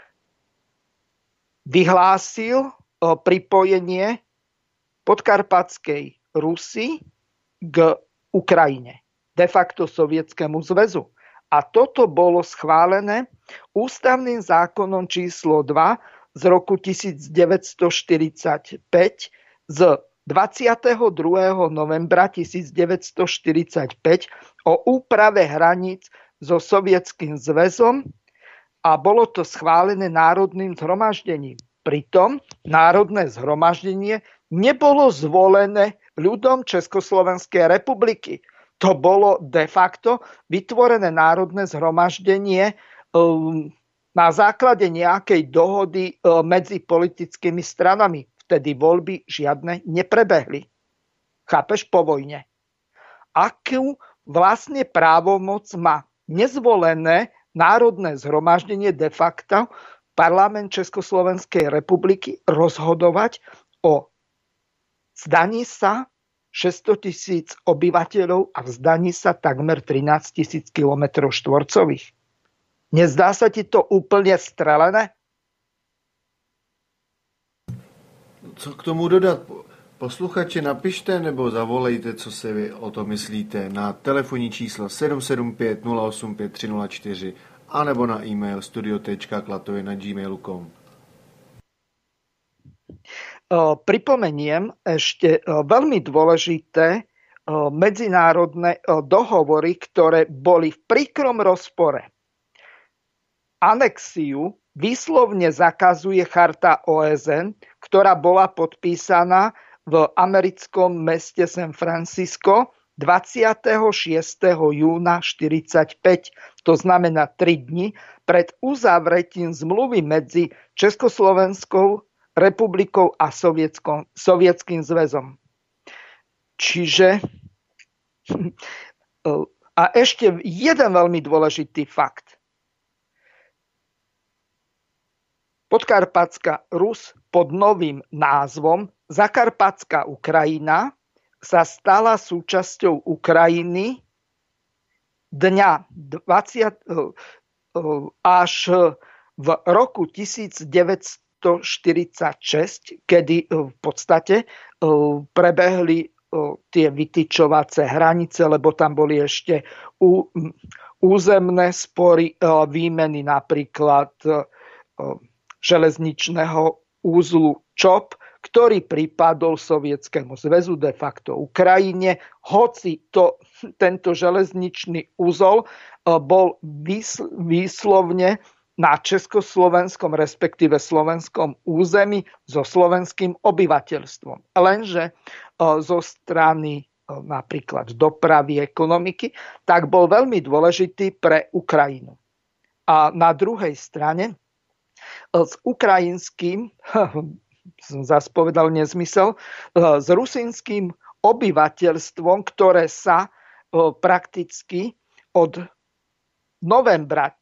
vyhlásil pripojenie Podkarpatskej Rusy k Ukrajine, de facto Sovietskému zväzu. A toto bolo schválené ústavným zákonom číslo dva z roku devätnásťstoštyridsaťpäť z dvadsiateho druhého novembra devätnásťstoštyridsaťpäť o úprave hraníc so Sovietským zväzom a bolo to schválené národným zhromaždením. Pritom národné zhromaždenie nebolo zvolené ľudom Československej republiky. To bolo de facto vytvorené národné zhromaždenie um, na základe nejakej dohody medzi politickými stranami. Vtedy voľby žiadne neprebehli. Chápeš, po vojne. Akú vlastne právomoc má nezvolené národné zhromaždenie de facto parlament Československej republiky rozhodovať o zdaní sa šesťsto tisíc obyvateľov a vzdaní sa takmer trinásť tisíc kilometrov štvorcových. Nezdá sa ti to úplně strelené? Co k tomu dodat? Posluchači, napište nebo zavolejte, co si vy o to myslíte, na telefonní číslo sedm sedm pět nula osm pět tři nula čtyři anebo na e-mail studio tečka klatově na gmail tečka com. Pripomeniem ešte veľmi dôležité medzinárodné dohovory, ktoré boli v príkrom rozpore. Anexiu výslovne zakazuje charta O S N, ktorá bola podpísaná v americkom meste San Francisco dvadsiateho šiesteho júna štyridsaťpäť, to znamená tri dni pred uzavretím zmluvy medzi Československou republikou a Sovietským zväzom. Čiže a ešte jeden veľmi dôležitý fakt. Podkarpatská Rus pod novým názvom Zakarpatská Ukrajina sa stala súčasťou Ukrajiny dňa dvadsiateho až v roku devätnásťstoštyridsaťšesť, kedy v podstate prebehli tie vytyčovacie hranice, lebo tam boli ešte územné spory, výmeny napríklad železničného úzlu Čop, ktorý pripadol Sovietskému zväzu, de facto Ukrajine, hoci to, tento železničný úzol bol výslovne na československom, respektíve slovenskom území so slovenským obyvateľstvom. Lenže zo strany napríklad dopravy, ekonomiky, tak bol veľmi dôležitý pre Ukrajinu. A na druhej strane s ukrajinským, som zase povedal nezmysel, s rusínskym obyvateľstvom, ktoré sa prakticky od novembra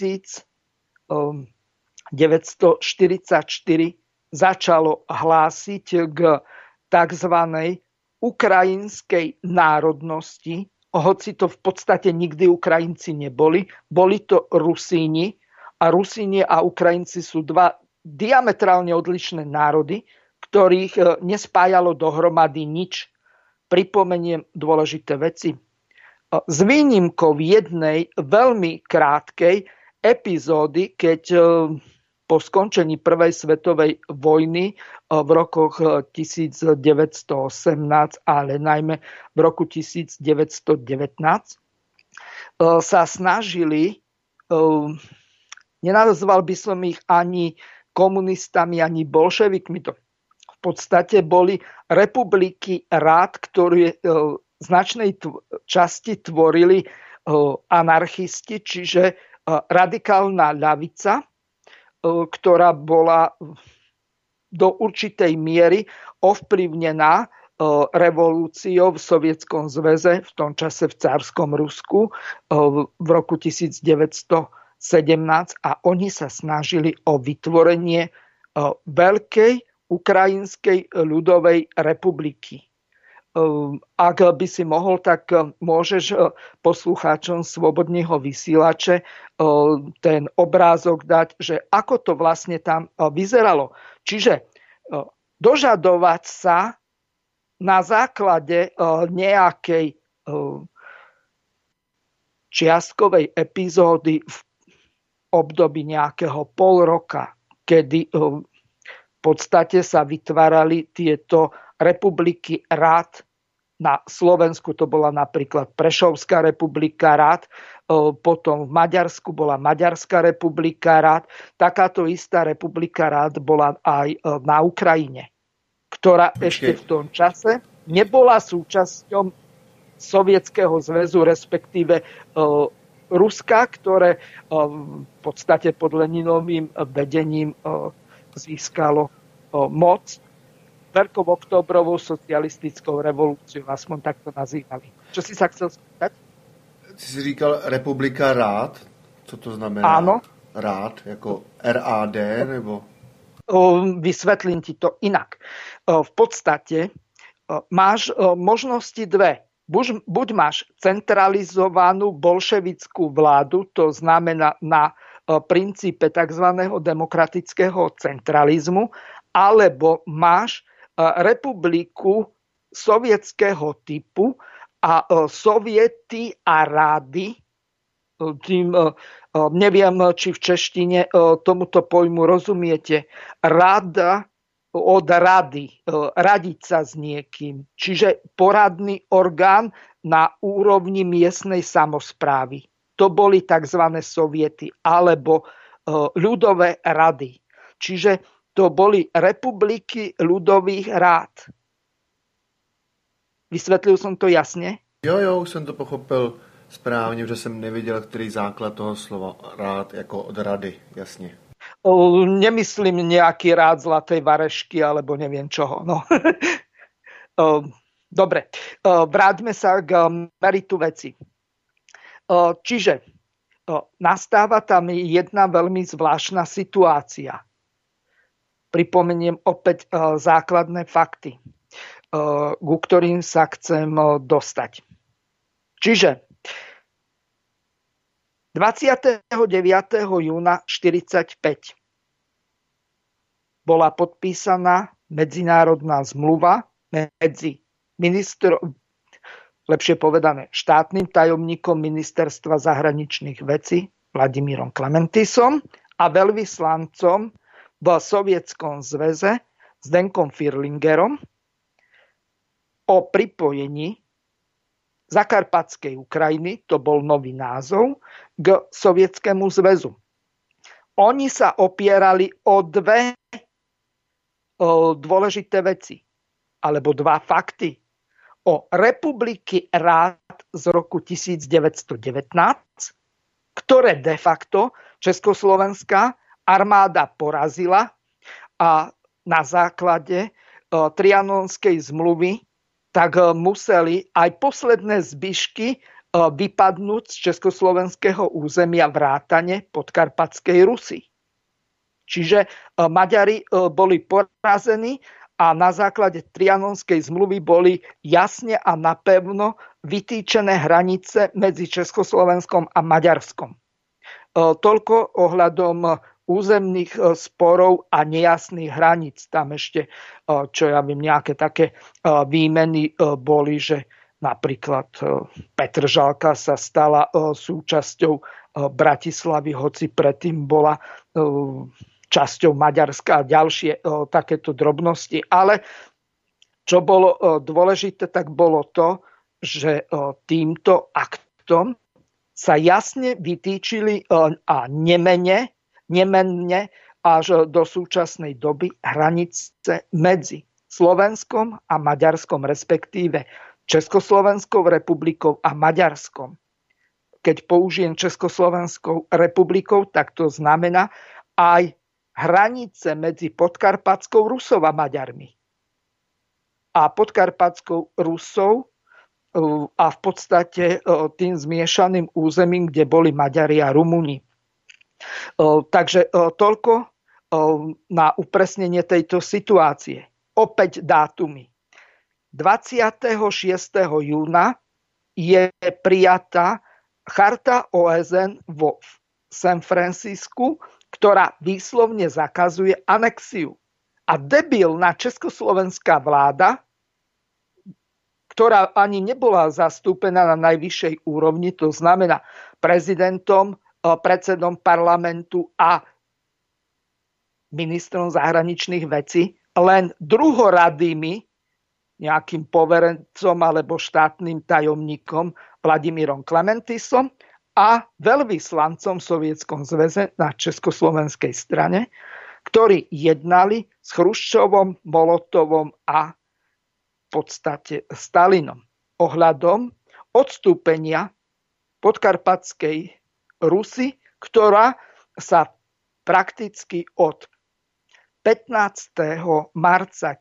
devätnásťstoštyridsaťštyri začalo hlásiť k tzv. Ukrajinskej národnosti, hoci to v podstate nikdy Ukrajinci neboli, boli to Rusíni, a Rusíni a Ukrajinci sú dva diametrálne odlišné národy, ktorých nespájalo dohromady nič. Pripomeniem dôležité veci. S výnimkou jednej veľmi krátkej epizódy, keď po skončení prvej svetovej vojny v rokoch devätnásťstoosemnásť, ale najmä v roku devätnásťstodevätnásť, sa snažili, nenazval by som ich ani komunistami, ani bolševikmi. To v podstate boli republiky rád, ktoré v značnej časti tvorili anarchisti, čiže radikálna ľavica, ktorá bola do určitej miery ovplyvnená revolúciou v Sovietskom zväze, v tom čase v cárskom Rusku v roku devätnásťstodeväťdesiat sedemnásť a oni sa snažili o vytvorenie veľkej Ukrajinskej ľudovej republiky. Ak by si mohol, tak môžeš poslucháčom Slobodného vysielače ten obrázok dať, že ako to vlastne tam vyzeralo. Čiže dožadovať sa na základe nejakej čiastkovej epizódy v období nejakého pol roka, kedy v podstate sa vytvárali tieto republiky rád. Na Slovensku to bola napríklad Prešovská republika rád, potom v Maďarsku bola Maďarská republika rád. Takáto istá republika rád bola aj na Ukrajine, ktorá Počkej. ešte v tom čase nebola súčasťou Sovietskeho zväzu, respektíve Ruska, ktoré v podstate pod Leninovým vedením získalo moc Veľkou októbrovou socialistickou revolúciou, aspoň tak to nazývali. Čo si sa chcel spýtať? Ty si říkal republika rád? Co to znamená? Áno. Rád, jako er á dé, nebo? Vysvetlím ti to inak. V podstate máš možnosti dve. Buď, buď máš centralizovanú bolševickú vládu, to znamená na princípe tzv. Demokratického centralizmu, alebo máš republiku sovietského typu a soviety a rády. Tým, neviem, či v češtine tomuto pojmu rozumiete. Rada od rady, radiť sa s niekým. Čiže poradný orgán na úrovni miestnej samosprávy. To boli tzv. Soviety alebo ľudové rady. Čiže to boli republiky ľudových rád. Vysvetlil som to jasne? Jo, jo, už jsem to pochopil správně, protože jsem neviděl, který základ toho slova rád, jako od rady, jasně. O, nemyslím nejaký rád zlatej varešky, alebo neviem čoho. No. o, dobre, o, vráťme sa k meritu veci. O, čiže o, nastáva tam jedna veľmi zvláštna situácia. Pripomeniem opäť o, základné fakty, o, ku ktorým sa chcem o, dostať. Čiže dvadsiateho deviateho júna štyridsaťpäť bola podpísaná medzinárodná zmluva medzi ministrom, lepšie povedané štátnym tajomníkom ministerstva zahraničných vecí Vladimírom Klementisom a veľvyslancom v Sovietskom zväze Zdenkom Firlingerom o pripojení Zakarpatskej Ukrajiny, to bol nový názov, k Sovietskému zväzu. Oni sa opierali o dve o dôležité veci, alebo dva fakty. O republiky rád z roku devätnásť devätnásť, ktoré de facto československá armáda porazila a na základe Trianonskej zmluvy tak museli aj posledné zbyšky vypadnúť z československého územia vrátane Podkarpatskej Rusy. Čiže Maďari boli porazení a na základe Trianonskej zmluvy boli jasne a napevno vytýčené hranice medzi Československom a Maďarskom. Toľko ohľadom územných sporov a nejasných hraníc. Tam ešte, čo ja viem, nejaké také výmeny boli, že napríklad Petržalka sa stala súčasťou Bratislavy, hoci predtým bola časťou Maďarska a ďalšie takéto drobnosti. Ale čo bolo dôležité, tak bolo to, že týmto aktom sa jasne vytýčili a nemene nemenne až do súčasnej doby hranice medzi Slovenskom a Maďarskom, respektíve Československou republikou a Maďarskom. Keď použijem Československou republikou, tak to znamená aj hranice medzi Podkarpatskou Rusou a Maďarmi. A Podkarpatskou Rusou a v podstate tým zmiešaným územím, kde boli Maďari a Rumúni. Takže toľko na upresnenie tejto situácie. Opäť dátumy. dvadsiateho šiesteho júna je prijatá charta ó es en vo San Francisku, ktorá výslovne zakazuje anexiu. A debilná československá vláda, ktorá ani nebola zastúpená na najvyššej úrovni, to znamená prezidentom, predsedom parlamentu a ministrom zahraničných vecí, len druhoradými nejakým poverencom alebo štátnym tajomníkom Vladimírom Klementisom a veľvyslancom v Sovietskom zväze na československej strane, ktorí jednali s Chruščovom, Molotovom a v podstate Stalinom ohľadom odstúpenia podkarpatskej Rusy, ktorá sa prakticky od pätnásteho marca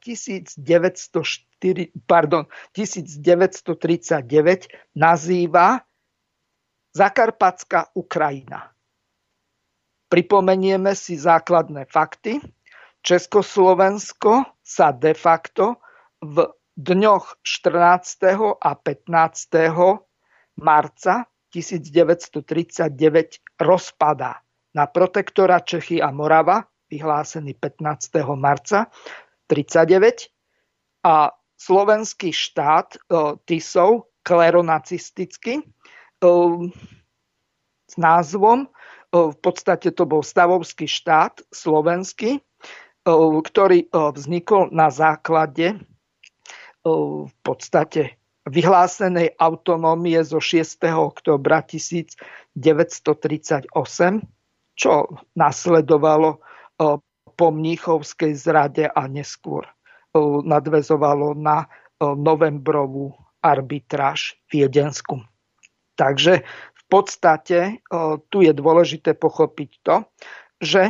tisícdeväťstotridsaťdeväť nazýva Zakarpatská Ukrajina. Pripomenieme si základné fakty. Československo sa de facto v dňoch štrnásteho a pätnásteho marca tisícdeväťstotridsaťdeväť rozpadá na protektorát Čechy a Morava, vyhlásený pätnásteho marca tridsaťdeväť, a slovenský štát Tisov, kleronacistický, s názvom, v podstate to bol stavovský štát slovenský, ktorý vznikol na základe v podstate vyhlásenej autonómie zo šiesteho októbra tisícdeväťstotridsaťosem, čo nasledovalo po mníchovskej zrade a neskôr nadväzovalo na novembrovú arbitráž viedensku. Takže v podstate tu je dôležité pochopiť to, že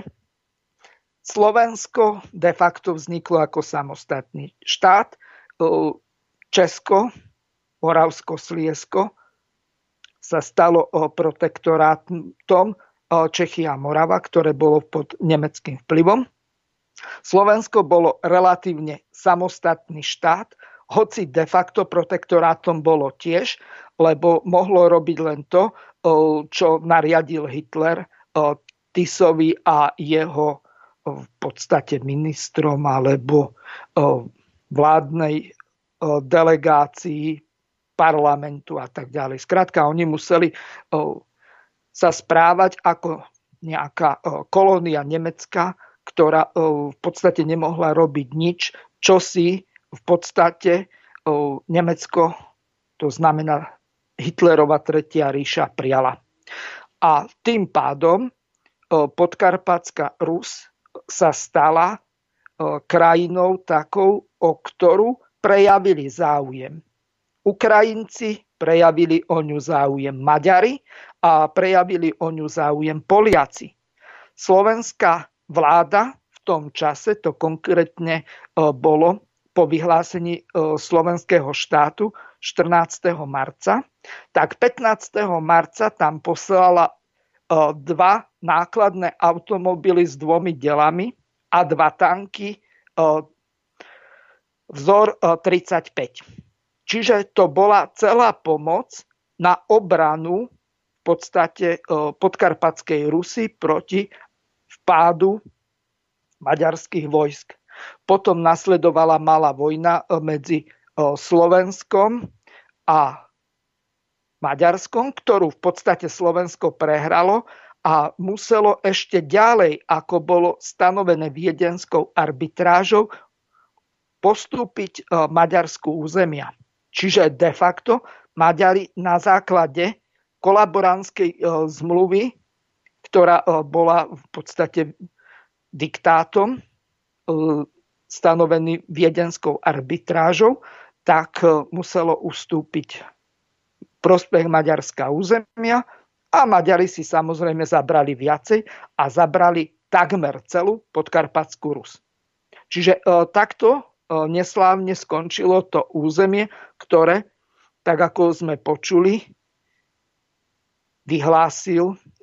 Slovensko de facto vzniklo ako samostatný štát. Česko, Moravsko-Sliesko sa stalo protektorátom Čechy a Morava, ktoré bolo pod nemeckým vplyvom. Slovensko bolo relatívne samostatný štát, hoci de facto protektorátom bolo tiež, lebo mohlo robiť len to, čo nariadil Hitler Tisovi a jeho v podstate ministrom alebo vládnej delegácii parlamentu a tak ďalej. Skrátka, oni museli sa správať ako nejaká kolónia nemecká, ktorá v podstate nemohla robiť nič, čo si v podstate Nemecko, to znamená Hitlerova tretia ríša, prijala. A tým pádom Podkarpatská Rus sa stala krajinou takou, o ktorú prejavili záujem Ukrajinci, prejavili o ňu záujem Maďari a prejavili o ňu záujem Poliaci. Slovenská vláda v tom čase, to konkrétne bolo po vyhlásení slovenského štátu štrnásteho marca, tak pätnásteho marca tam poslala dva nákladné automobily s dvomi delami a dva tanky vzor tridsaťpäť. Čiže to bola celá pomoc na obranu v podstate podkarpatskej Rusy proti vpádu maďarských vojsk. Potom nasledovala malá vojna medzi Slovenskom a Maďarskom, ktorú v podstate Slovensko prehralo a muselo ešte ďalej, ako bolo stanovené viedenskou arbitrážou, postúpiť Maďarsku územia. Čiže de facto Maďari na základe kolaborantskej zmluvy, ktorá bola v podstate diktátom stanovený viedenskou arbitrážou, tak muselo ustúpiť prospech Maďarská územia a Maďari si samozrejme zabrali viacej a zabrali takmer celú Podkarpatskú Rus. Čiže takto neslávne skončilo to územie, ktoré, tak ako sme počuli, vyhlásil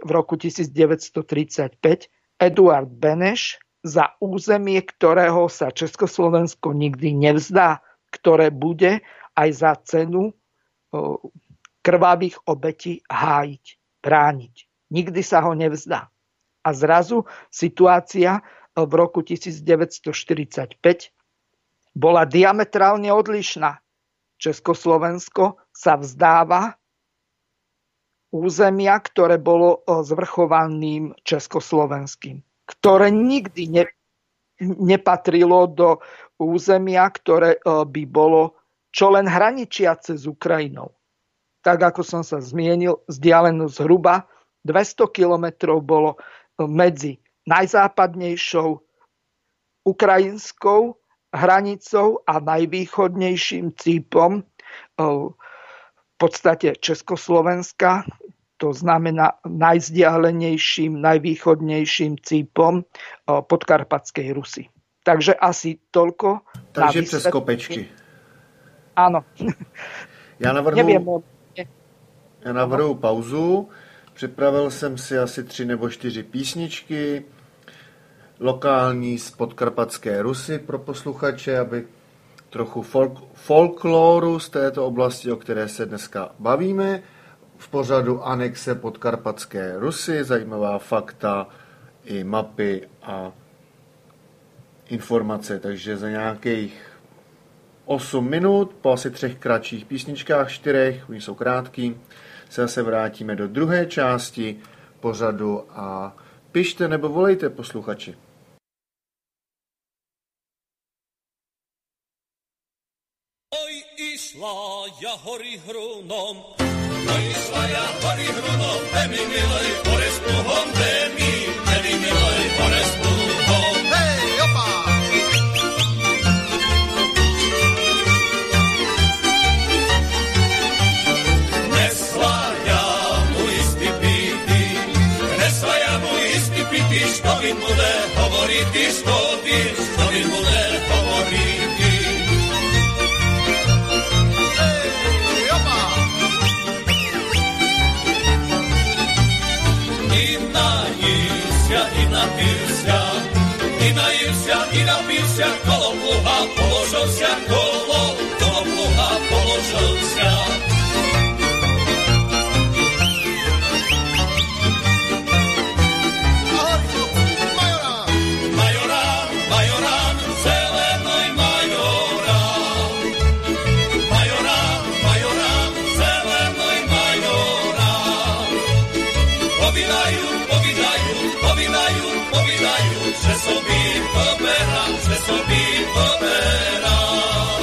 v roku devätnásťtridsaťpäť Eduard Beneš za územie, ktorého sa Československo nikdy nevzdá, ktoré bude aj za cenu krvavých obetí hájiť, brániť. Nikdy sa ho nevzdá. A zrazu situácia v roku devätnásťštyridsaťpäť bola diametrálne odlišná. Československo sa vzdáva územia, ktoré bolo zvrchovaným československým, ktoré nikdy ne, nepatrilo do územia, ktoré by bolo čo len hraničiace s Ukrajinou. Tak ako som sa zmienil, vzdialenosť zhruba dvesto kilometrov bolo medzi najzápadnejšou ukrajinskou hranicou a najvýchodnejším cípom v podstate Československa, to znamená najzdialenejším, najvýchodnejším cípom podkarpatskej Rusy. Takže asi toľko. Takže přes kopečky. Áno. Já navrhu, Neviem, já navrhu pauzu. Připravil jsem si asi tři nebo čtyři písničky, lokální z podkarpatské Rusy pro posluchače, aby trochu folk, folkloru z této oblasti, o které se dneska bavíme. V pořadu Anexe podkarpatské Rusy, zajímavá fakta i mapy a informace. Takže za nějakých osm minut, po asi třech kratších písničkách, čtyřech, oni jsou krátký, se zase vrátíme do druhé části pořadu a pište nebo volejte, posluchači. Oj, išla ja hory hrunom, oj, išla ja hory hrunom, de mi milej hore s pluhom, de mi, de mi milej hore s pluhom. Hej, opa! Nesla ja mu istý pity, nesla ja mu istý pity, što mi bude hovoriti, što mi, što mi bude hovoriti. I napilся, i najilся, i napilся, kolo pluha položilся, kolo, kolo pluha položilся. Ahoj, majorán! Majorán, majorán, zelenoj majorán. Majorán, majorán, zelenoj majorán. Povídajú, povídajú, povídajú, povídajú, že sobí poberám, že sobí poberám.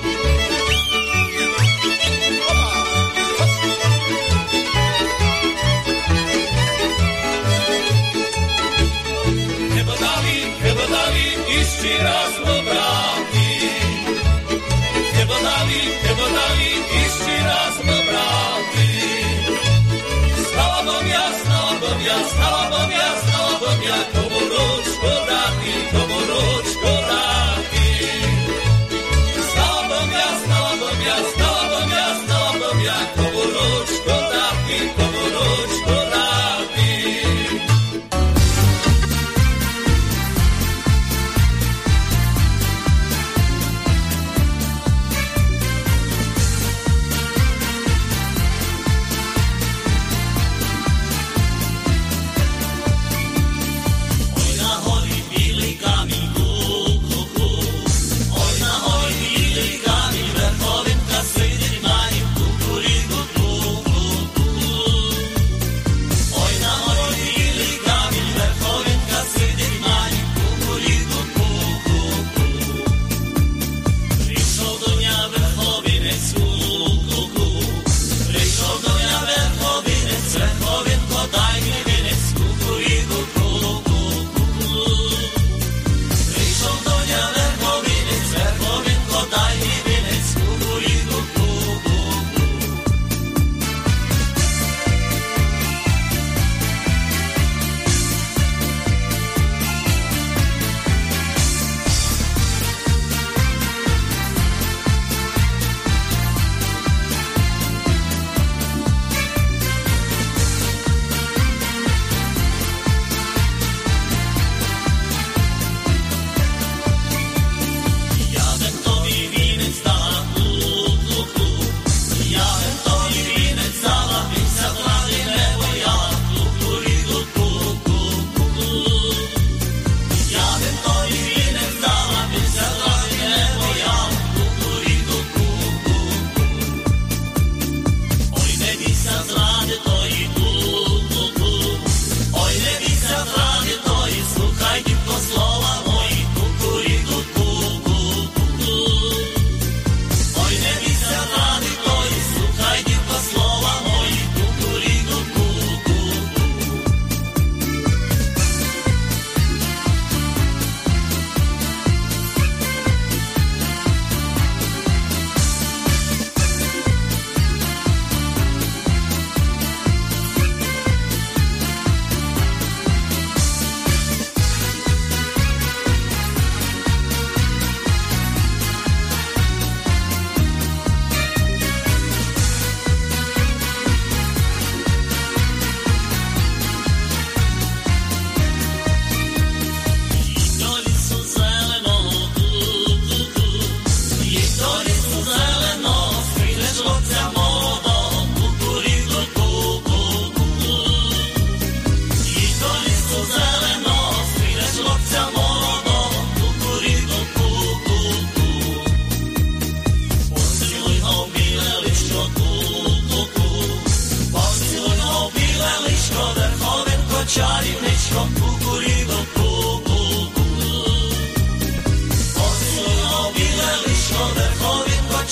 Nebo dali, nebo dali, ešte raz ho vráti. Nebo dali, nebo dali, ešte raz ho vráti. Stala bom ja, stala bom ja, stala bom ja, stala bom ja, komu ručko dáti, komu ručko dáti. Stala bom ja, stala bom ja, stala bom ja, stala bom ja, komu ručko dáti, komu ručko dáti. Oj,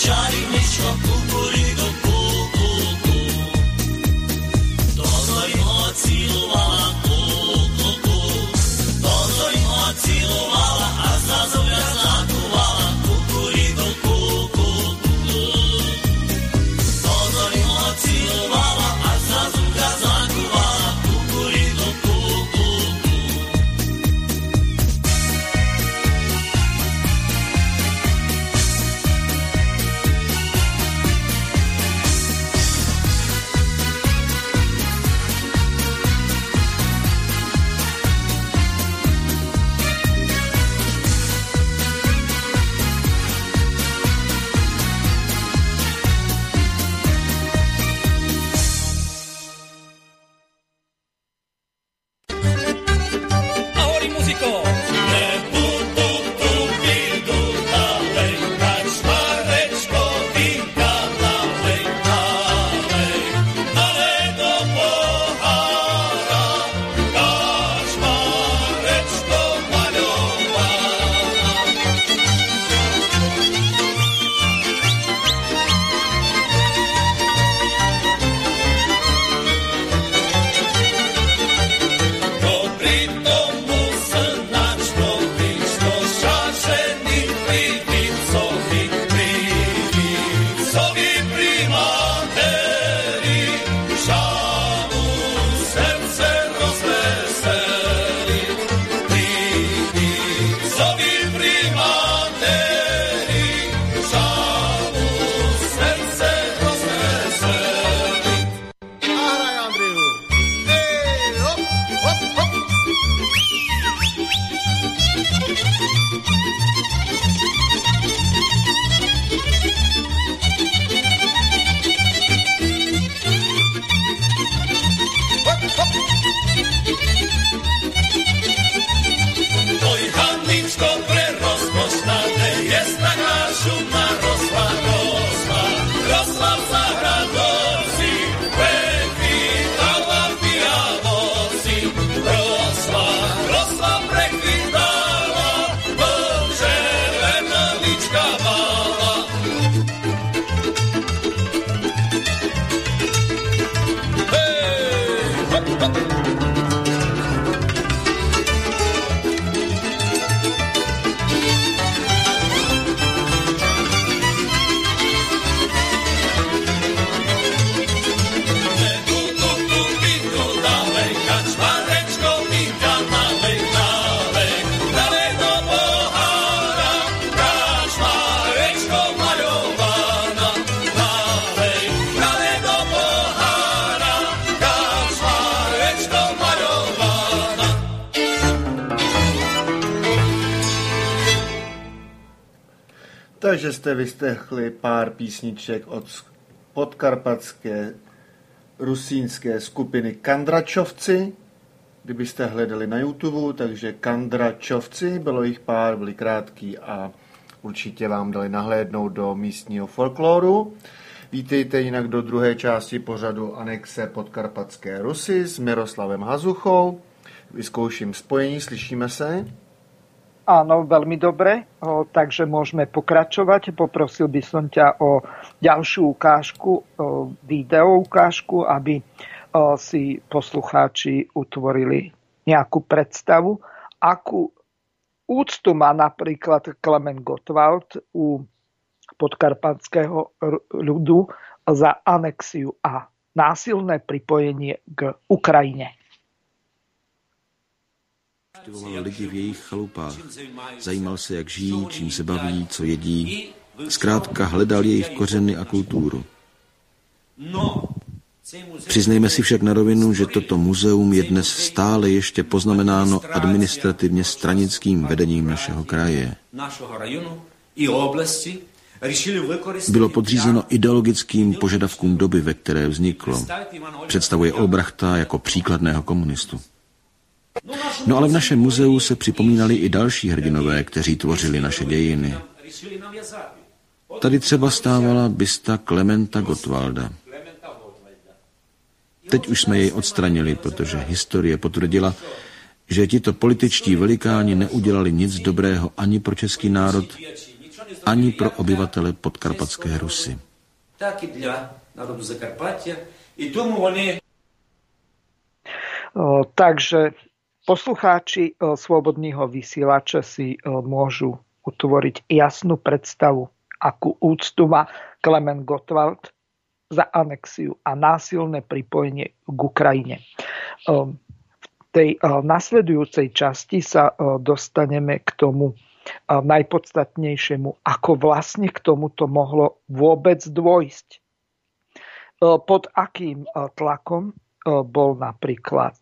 čarinečko, kukuriku, kuku, ku. Toto im ocilovala, kuku, ku. Toto im ocilovala a zrazu viac zakúvala, kukuriku, kuku, ku. Toto im ocilovala a zrazu viac zakúvala, kukuriku, kuku, ku. Ahoj, muziko! Nebudu tu bydu dalej, kačmarečko, vinka nalej, nalej, nalej do pohára, kačmarečko maľovaná. Dobrý tomu srnačko, vyšlo šašený privicovi, privicovi primátery, šalu srdce rozveseli. Privicovi primátery, šalu srdce rozveseli. A hraj, Andriu. Hej, hop, hop, hop. Oj, Haničko, prerozkošnaté, jest taká šumná rosla, rosla, rosla v záhradovci, prekvítala v Bialoci, rosla, rosla, prekvítala, bože, lemelička mala. Hej, hop, hop. Nebudu tu bydu dalej, kačmarečko, vinka nalej, nalej, nalej do pohára, kačmarečko maľovaná, nalej, nalej do pohára, kačmarečko maľovaná. Takže jste vyslechli pár písniček od sk- podkarpatské rusínské skupiny Kandračovci. Kdybyste hledali na YouTube, takže Kandračovci, bylo jich pár, byli krátký a určitě vám dali nahlédnout do místního folkloru. Vítejte jinak do druhé části pořadu Anexe Podkarpatské Rusy s Miroslavem Hazuchou. Vyzkouším spojení, slyšíme se? Áno, veľmi dobre, o, takže môžeme pokračovať. Poprosil by som ťa o ďalšiu ukážku, o, video ukážku, aby o, si poslucháči utvorili nejakú predstavu, akú úctu má napríklad Klement Gottwald u podkarpatského ľudu za anexiu a násilné pripojenie k Ukrajine. Navštěvoval lidi v jejich chalupách. Zajímal se, jak žijí, čím se baví, co jedí. Zkrátka hledal jejich kořeny a kulturu. Přiznejme si však na rovinu, že toto muzeum je dnes stále ještě poznamenáno administrativně stranickým vedením našeho kraje. Bylo podřízeno ideologickým požadavkům doby, ve které vzniklo. Představuje Olbrachta jako příkladného komunistu. No ale v našem muzeu se připomínali i další hrdinové, kteří tvořili naše dějiny. Tady třeba stávala bysta Klementa Gottwalda. Teď už jsme jej odstranili, protože historie potvrdila, že tito političtí velikáni neudělali nic dobrého ani pro český národ, ani pro obyvatele podkarpatské Rusy. Tak i dla národu Zakarpatia. I tomu oni... Takže poslucháči Slobodného vysielača si môžu utvoriť jasnú predstavu, akú úctu má Klement Gottwald za anexiu a násilné pripojenie k Ukrajine. V tej nasledujúcej časti sa dostaneme k tomu najpodstatnejšiemu, ako vlastne k tomuto mohlo vôbec dôjsť. Pod akým tlakom bol napríklad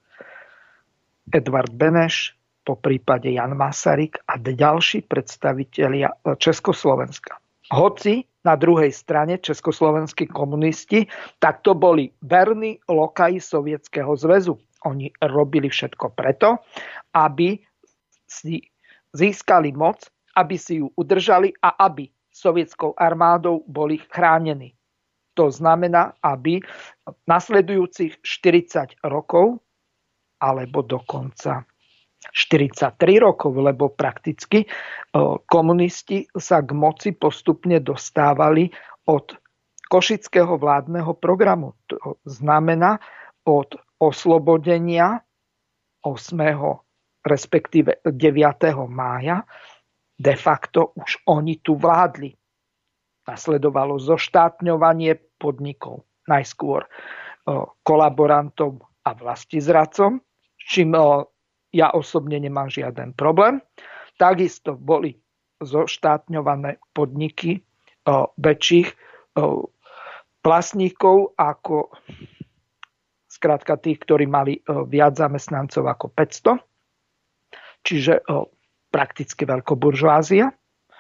Edvard Beneš, po prípade Jan Masaryk a ďalší predstavitelia Československa. Hoci na druhej strane československí komunisti, tak to boli verní lokaji Sovietskeho zväzu. Oni robili všetko preto, aby si získali moc, aby si ju udržali a aby sovietskou armádou boli chránení. To znamená, aby nasledujúcich štyridsať rokov, alebo dokonca štyridsaťtri rokov, lebo prakticky komunisti sa k moci postupne dostávali od košického vládneho programu. To znamená od oslobodenia ôsmeho respektíve deviateho mája de facto už oni tu vládli. Nasledovalo zoštátňovanie podnikov. Najskôr kolaborantom a vlastizradcom, s čím ja osobne nemám žiaden problém. Takisto boli zoštátňované podniky väčších vlastníkov ako skrátka tých, ktorí mali viac zamestnancov ako päťsto. Čiže prakticky veľkoburžoázia.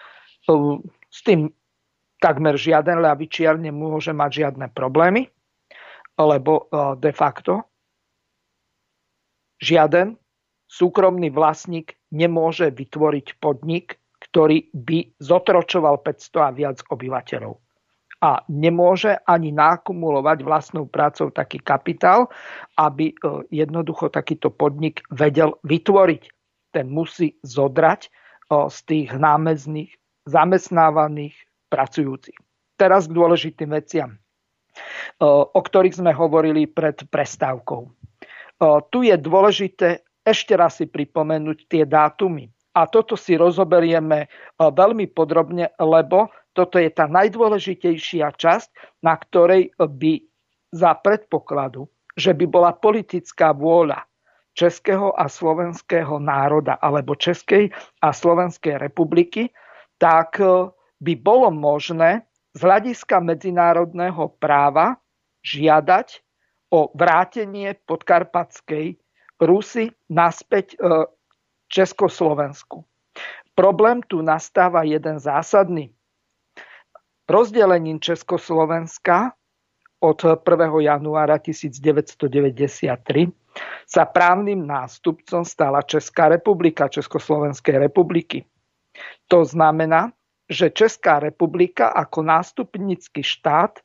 S tým takmer žiaden ľavičiar nemôže mať žiadne problémy, lebo de facto žiaden súkromný vlastník nemôže vytvoriť podnik, ktorý by zotročoval päťsto a viac obyvateľov. A nemôže ani naakumulovať vlastnou prácou taký kapitál, aby jednoducho takýto podnik vedel vytvoriť. Ten musí zodrať z tých námezných zamestnávaných pracujúcich. Teraz k dôležitým veciam, o ktorých sme hovorili pred prestávkou. Tu je dôležité ešte raz si pripomenúť tie dátumy. A toto si rozoberieme veľmi podrobne, lebo toto je tá najdôležitejšia časť, na ktorej by za predpokladu, že by bola politická vôľa českého a slovenského národa alebo Českej a Slovenskej republiky, tak by bolo možné z hľadiska medzinárodného práva žiadať o vrátenie podkarpatskej Rusy naspäť Československu. Problém tu nastáva jeden zásadný. Rozdelením Československa od prvého januára devätnásťstodeväťdesiattri sa právnym nástupcom stala Česká republika, Československej republiky. To znamená, že Česká republika ako nástupnícky štát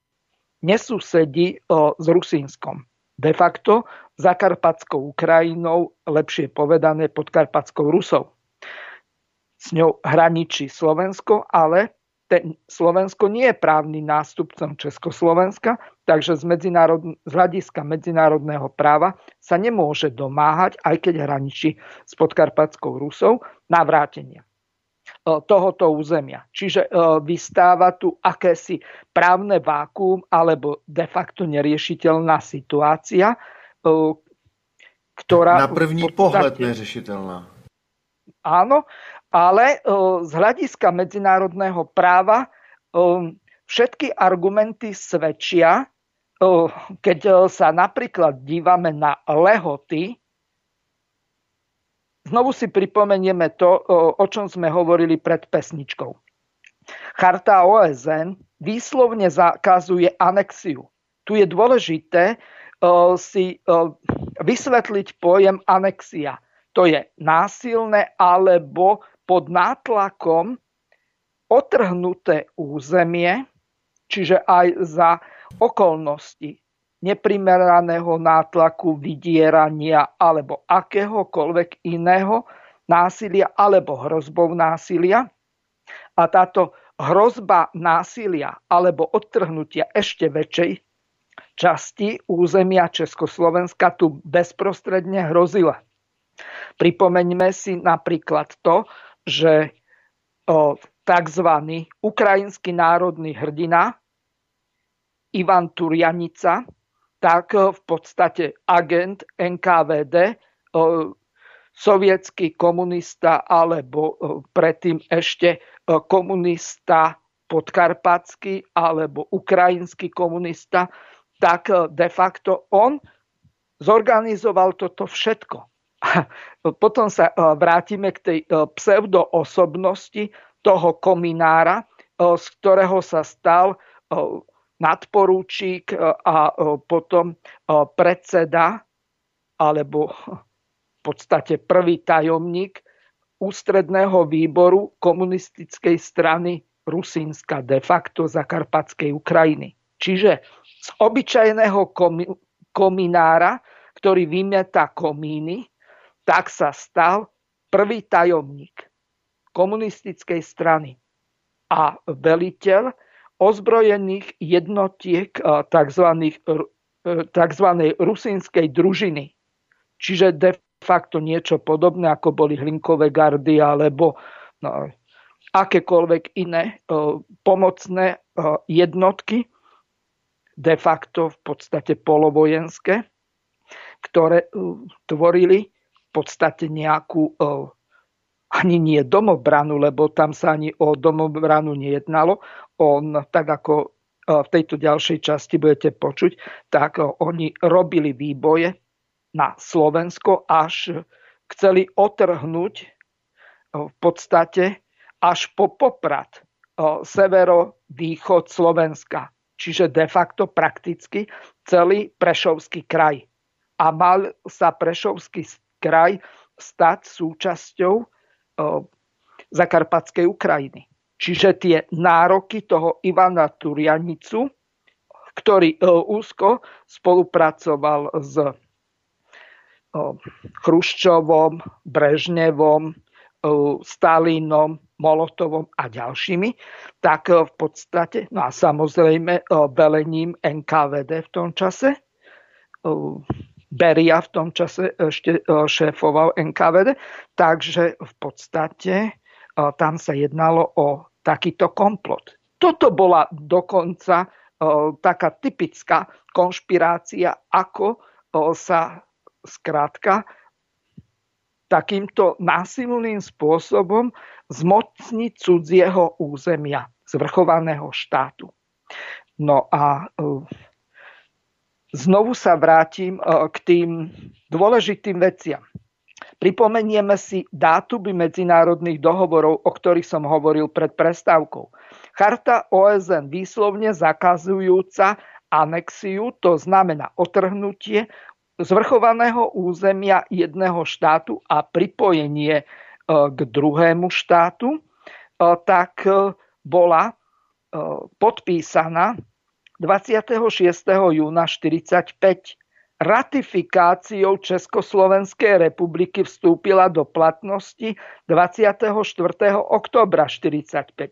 nesúsedí s Rusínskom. De facto Zakarpatskou Ukrajinou, lepšie povedané Podkarpatskou Rusou. S ňou hraničí Slovensko, ale ten Slovensko nie je právnym nástupcom Československa, takže z, medzinárod... z hľadiska medzinárodného práva sa nemôže domáhať, aj keď hraničí s Podkarpatskou Rusou, navrátenia tohoto územia. Čiže vystáva tu akési právne vákuum alebo de facto neriešiteľná situácia, ktorá... Na první podstate, pohled neřešiteľná. Áno, ale z hľadiska medzinárodného práva všetky argumenty svedčia, keď sa napríklad dívame na lehoty. Znovu si pripomenieme to, o čom sme hovorili pred pesničkou. Charta ó es en výslovne zakazuje anexiu. Tu je dôležité si vysvetliť pojem anexia. To je násilné alebo pod nátlakom otrhnuté územie, čiže aj za okolnosti neprimeraného nátlaku, vydierania alebo akéhokoľvek iného násilia alebo hrozbou násilia. A táto hrozba násilia alebo odtrhnutia ešte väčšej časti územia Československa tu bezprostredne hrozila. Pripomeňme si napríklad to, že tzv. Ukrajinský národný hrdina Ivan Turjanica, tak v podstate agent en ká vé dé, sovietský komunista alebo predtým ešte komunista podkarpatský alebo ukrajinský komunista, tak de facto on zorganizoval toto všetko. Potom sa vrátime k tej pseudoosobnosti toho kominára, z ktorého sa stal nadporúčík a potom predseda alebo v podstate prvý tajomník ústredného výboru komunistickej strany Rusínska, de facto Zakarpatskej Ukrajiny. Čiže z obyčajného kominára, ktorý vymetá komíny, tak sa stal prvý tajomník komunistickej strany a veliteľ ozbrojených jednotiek tzv. tzv. Rusínskej družiny. Čiže de facto niečo podobné, ako boli Hlinkové gardy alebo no, akékoľvek iné pomocné jednotky, de facto v podstate polovojenské, ktoré tvorili v podstate nejakú ani nie domobranu, lebo tam sa ani o domobranu nejednalo. On, tak ako v tejto ďalšej časti budete počuť, tak oni robili výboje na Slovensko, až chceli otrhnúť v podstate až po Poprad severovýchod Slovenska. Čiže de facto prakticky celý Prešovský kraj. A mal sa Prešovský kraj stať súčasťou Zakarpatskej Ukrajiny. Čiže tie nároky toho Ivana Turjanicu, ktorý úzko spolupracoval s Chruščovom, Brežnevom, Stalinom, Molotovom a ďalšími, tak v podstate, no a samozrejme velením en ká vé dé v tom čase, Beria v tom čase ešte šéfoval en ká vé dé, takže v podstate tam sa jednalo o takýto komplot. Toto bola dokonca taká typická konšpirácia, ako sa skrátka takýmto násilným spôsobom zmocniť cudzieho územia, zvrchovaného štátu. No a znovu sa vrátim k tým dôležitým veciam. Pripomenieme si dátumy medzinárodných dohovorov, o ktorých som hovoril pred prestávkou. Charta ó es en výslovne zakazujúca anexiu, to znamená otrhnutie zvrchovaného územia jedného štátu a pripojenie k druhému štátu, tak bola podpísaná dvadsiateho šiesteho júna štyridsaťpäť. Ratifikáciou Československej republiky vstúpila do platnosti dvadsiateho štvrtého októbra štyridsaťpäť.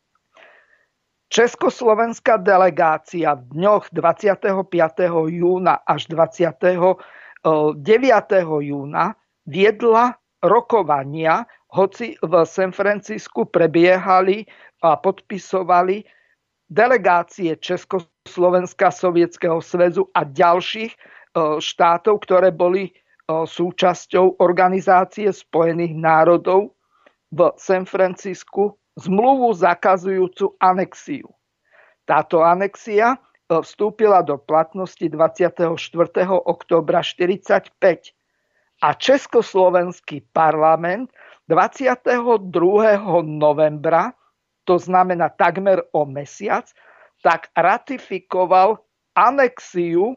Československá delegácia v dňoch dvadsiateho piateho júna až dvadsiateho deviateho júna viedla rokovania, hoci v San Francisku prebiehali a podpisovali delegácie Československa, Sovietskeho zväzu a ďalších štátov, ktoré boli súčasťou Organizácie spojených národov v San Francisku, zmluvu zakazujúcu anexiu. Táto anexia vstúpila do platnosti dvadsiateho štvrtého októbra štyridsaťpäť a Československý parlament dvadsiateho druhého novembra, to znamená takmer o mesiac, tak ratifikoval anexiu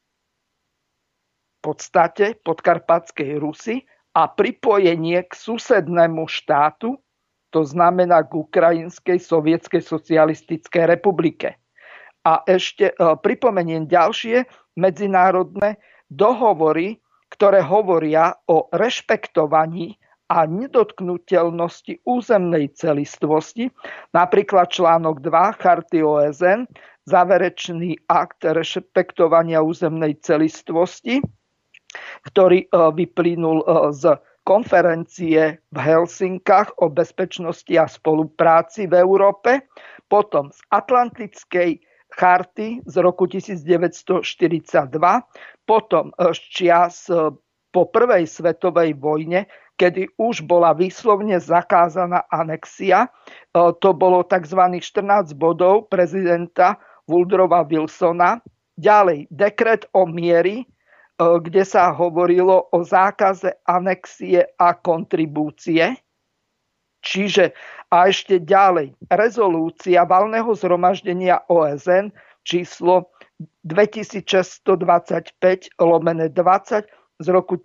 v podstate Podkarpatskej Rusy a pripojenie k susednému štátu, to znamená k Ukrajinskej sovietskej socialistickej republike. A ešte pripomeniem ďalšie medzinárodné dohovory, ktoré hovoria o rešpektovaní a nedotknuteľnosti územnej celistvosti, napríklad článok dva Charty ó es en, záverečný akt rešpektovania územnej celistvosti, ktorý vyplynul z konferencie v Helsinkách o bezpečnosti a spolupráci v Európe, potom z Atlantickej charty z roku devätnásťstoštyridsaťdva, potom z čias po prvej svetovej vojne, kedy už bola výslovne zakázaná anexia. To bolo tzv. štrnásť bodov prezidenta Woodrowa Wilsona. Ďalej dekret o miery, kde sa hovorilo o zákaze anexie a kontribúcie. Čiže a ešte ďalej rezolúcia valného zhromaždenia ó es en číslo dvetisícšesťstodvadsaťpäť lomeno dvadsať z roku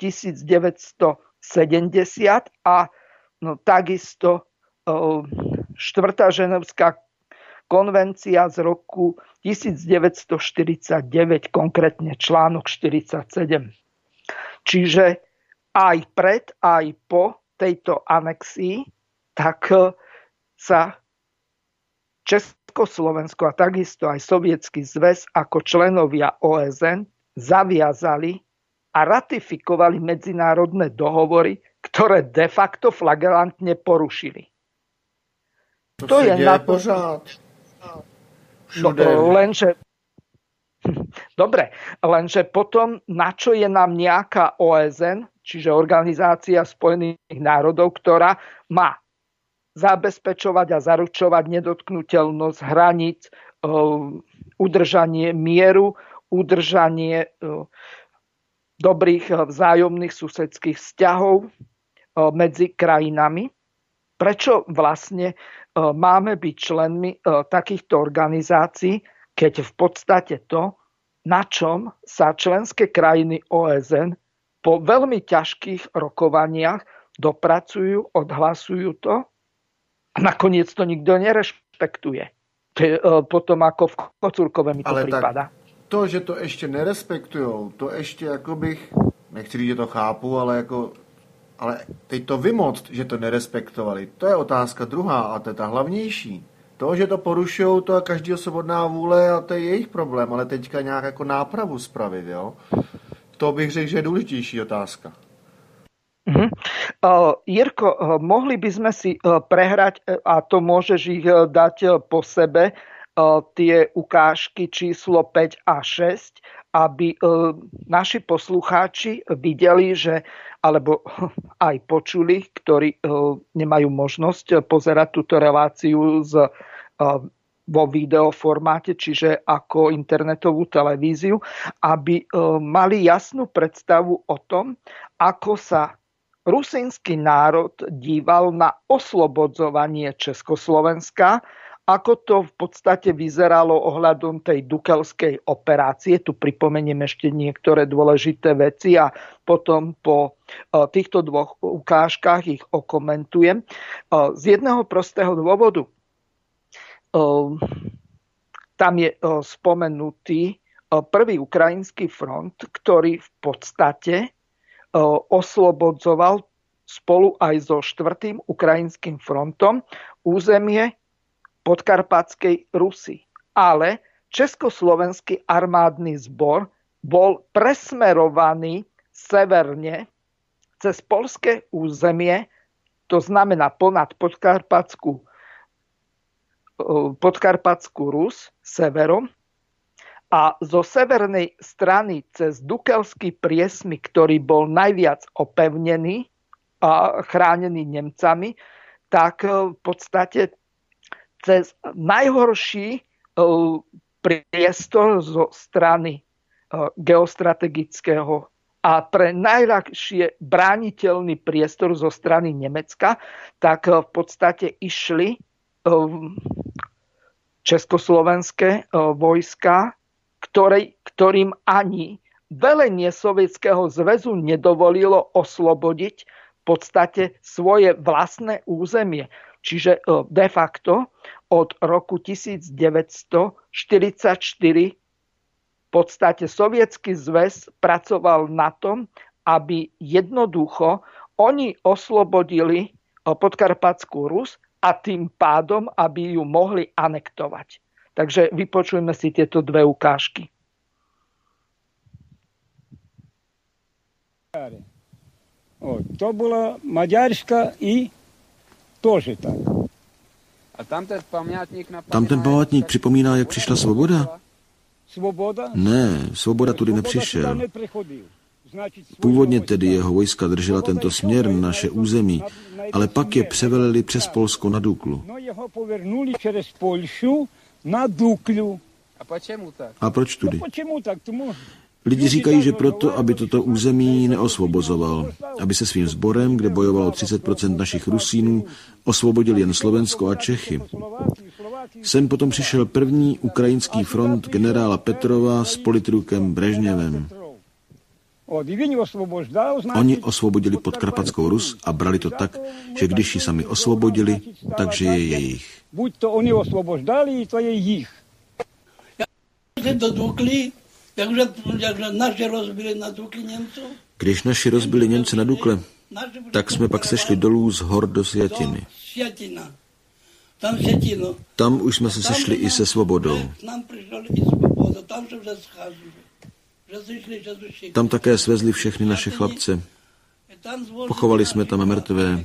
devätnásťsedemdesiat a no, takisto o, štvrtá ženevská konvencia z roku devätnásťštyridsaťdeväť, konkrétne článok štyridsaťsedem. Čiže aj pred, aj po tejto anexii tak sa Československo a takisto aj Sovietsky zväz ako členovia ó es en zaviazali a ratifikovali medzinárodné dohovory, ktoré de facto flagrantne porušili. To, to je na pořád. No, lenže dobre, lenže potom na čo je nám nejaká ó es en, čiže Organizácia spojených národov, ktorá má zabezpečovať a zaručovať nedotknuteľnosť hraníc, udržanie mieru, udržanie dobrých vzájomných susedských vzťahov medzi krajinami. Prečo vlastne máme byť členmi takýchto organizácií, keď v podstate to, na čom sa členské krajiny ó es en po veľmi ťažkých rokovaniach dopracujú, odhlasujú to, a nakoniec to nikto nerešpektuje. Potom ako v Kocúrkove mi to ale prípada. To, že to ešte nerespektujou, to ešte ako bych, nechci říct, že to chápu, ale jako, ale teď to vymoct, že to nerespektovali, to je otázka druhá a to je ta hlavnější. To, že to porušujou, to je každý svobodná vůle a to je jejich problém, ale teďka nějak jako nápravu spravit, jo? To bych řekl, že je důležitější otázka. Uh-huh. Uh, Jirko, uh, mohli by sme si uh, prehrať, uh, a to môžeš ich uh, dať uh, po sebe, uh, tie ukážky číslo päť a šesť, aby uh, naši poslucháči videli, že, alebo uh, aj počuli, ktorí uh, nemajú možnosť uh, pozerať túto reláciu z, uh, vo videoformáte, čiže ako internetovú televíziu, aby uh, mali jasnú predstavu o tom, ako sa rusínsky národ díval na oslobodzovanie Československa, ako to v podstate vyzeralo ohľadom tej dukelskej operácie. Tu pripomeniem ešte niektoré dôležité veci a potom po týchto dvoch ukážkach ich okomentujem. Z jedného prostého dôvodu. Tam je spomenutý prvý ukrajinský front, ktorý v podstate oslobodzoval spolu aj so štvrtým ukrajinským frontom územie Podkarpatskej Rusy. Ale Československý armádny zbor bol presmerovaný severne cez poľské územie, to znamená ponad Podkarpatskú, Podkarpatskú Rus severom, a zo severnej strany cez Dukelský priesmyk, ktorý bol najviac opevnený a chránený Nemcami, tak v podstate cez najhorší priestor zo strany geostrategického a pre najľahšie brániteľný priestor zo strany Nemecka, tak v podstate išli československé vojska, Ktorej, ktorým ani velenie Sovietskeho zväzu nedovolilo oslobodiť v podstate svoje vlastné územie. Čiže de facto od roku devätnásťštyridsaťštyri v podstate Sovietsky zväz pracoval na tom, aby jednoducho oni oslobodili Podkarpatskú Rus a tým pádom, aby ju mohli anektovať. Takže vypočujme si tieto dve ukážky. О, то була Мадярська і теж так. A tam ten památník napomíná, Tam ten památník připomíná, jak přišla svoboda? Svoboda? Ne, svoboda tudy nepřišel. Původně tedy jeho vojska držela tento směr na naše území, ale pak je převelili přes Polsko na Duklu. No jeho poвернули через Польщу на Дуклю. A počemu tak? A proč tudy? Почему так? Тому Lidi říkají, že proto, aby toto území neosvobozoval, aby se svým sborem, kde bojovalo třicet procent našich Rusínů, osvobodil jen Slovensko a Čechy. Sem potom přišel první ukrajinský front generála Petrova s politrukem Brežněvem. Oni osvobodili Podkarpatskou Rus a brali to tak, že když ji sami osvobodili, takže je jejich. Buď to oni osvoboždali, to je jich. Do Dukly, takže, takže naši rozbili na Dukli Němců. Když naši rozbili Němce na Dukle, tak jsme pak sešli dolů z hor do Sjatiny. Tam Sjatino. Tam už jsme se sešli i se svobodou. Tam přišel i svoboda, tam se вже scházeli. Tam také svezli všechny naše chlapce. Pochovali jsme tam mrtvé.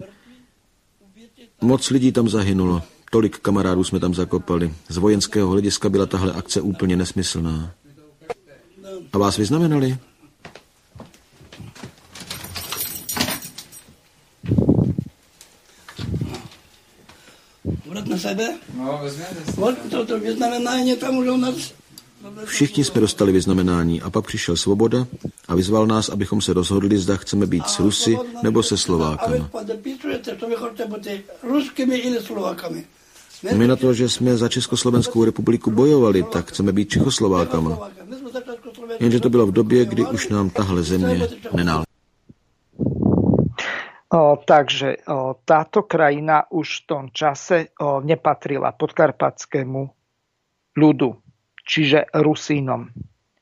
Moc lidí tam zahynulo. Tolik kamarádů jsme tam zakopali. Z vojenského hlediska byla tahle akce úplně nesmyslná. A vás vyznamenali? Vrat na sebe? No, vezměte si. To, to vyznamenání tam už u nás. Všichni jsme dostali vyznamenání a pak přišel Svoboda a vyzval nás, abychom se rozhodli, zda chceme být s Rusy nebo se Slovákama. A vy podepisujete, že vy chcete být ruskými ili Slovákami. My na to, že jsme za Československou republiku bojovali, tak chceme být Čechoslovákama. Jenže to bylo v době, kdy už nám tahle země nenáležela. Takže o, táto krajina už v tom čase o, nepatrila podkarpatskému ľudu, čiže Rusínom.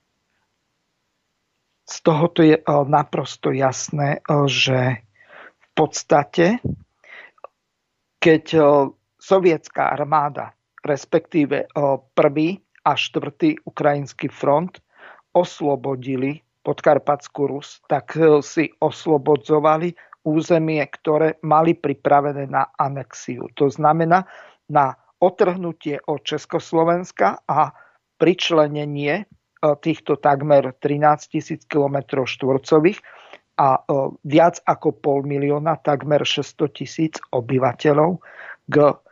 Z tohoto je o, naprosto jasné, o, že v podstate, keď o, sovietská armáda, respektíve o, prvý a štvrtý ukrajinský front oslobodili Podkarpatskú Rus, tak o, si oslobodzovali územie, ktoré mali pripravené na anexiu. To znamená na otrhnutie od Československa a pričlenenie týchto takmer trinásť tisíc kilometrov štvorcových a viac ako pol milióna, takmer šesťsto tisíc obyvateľov k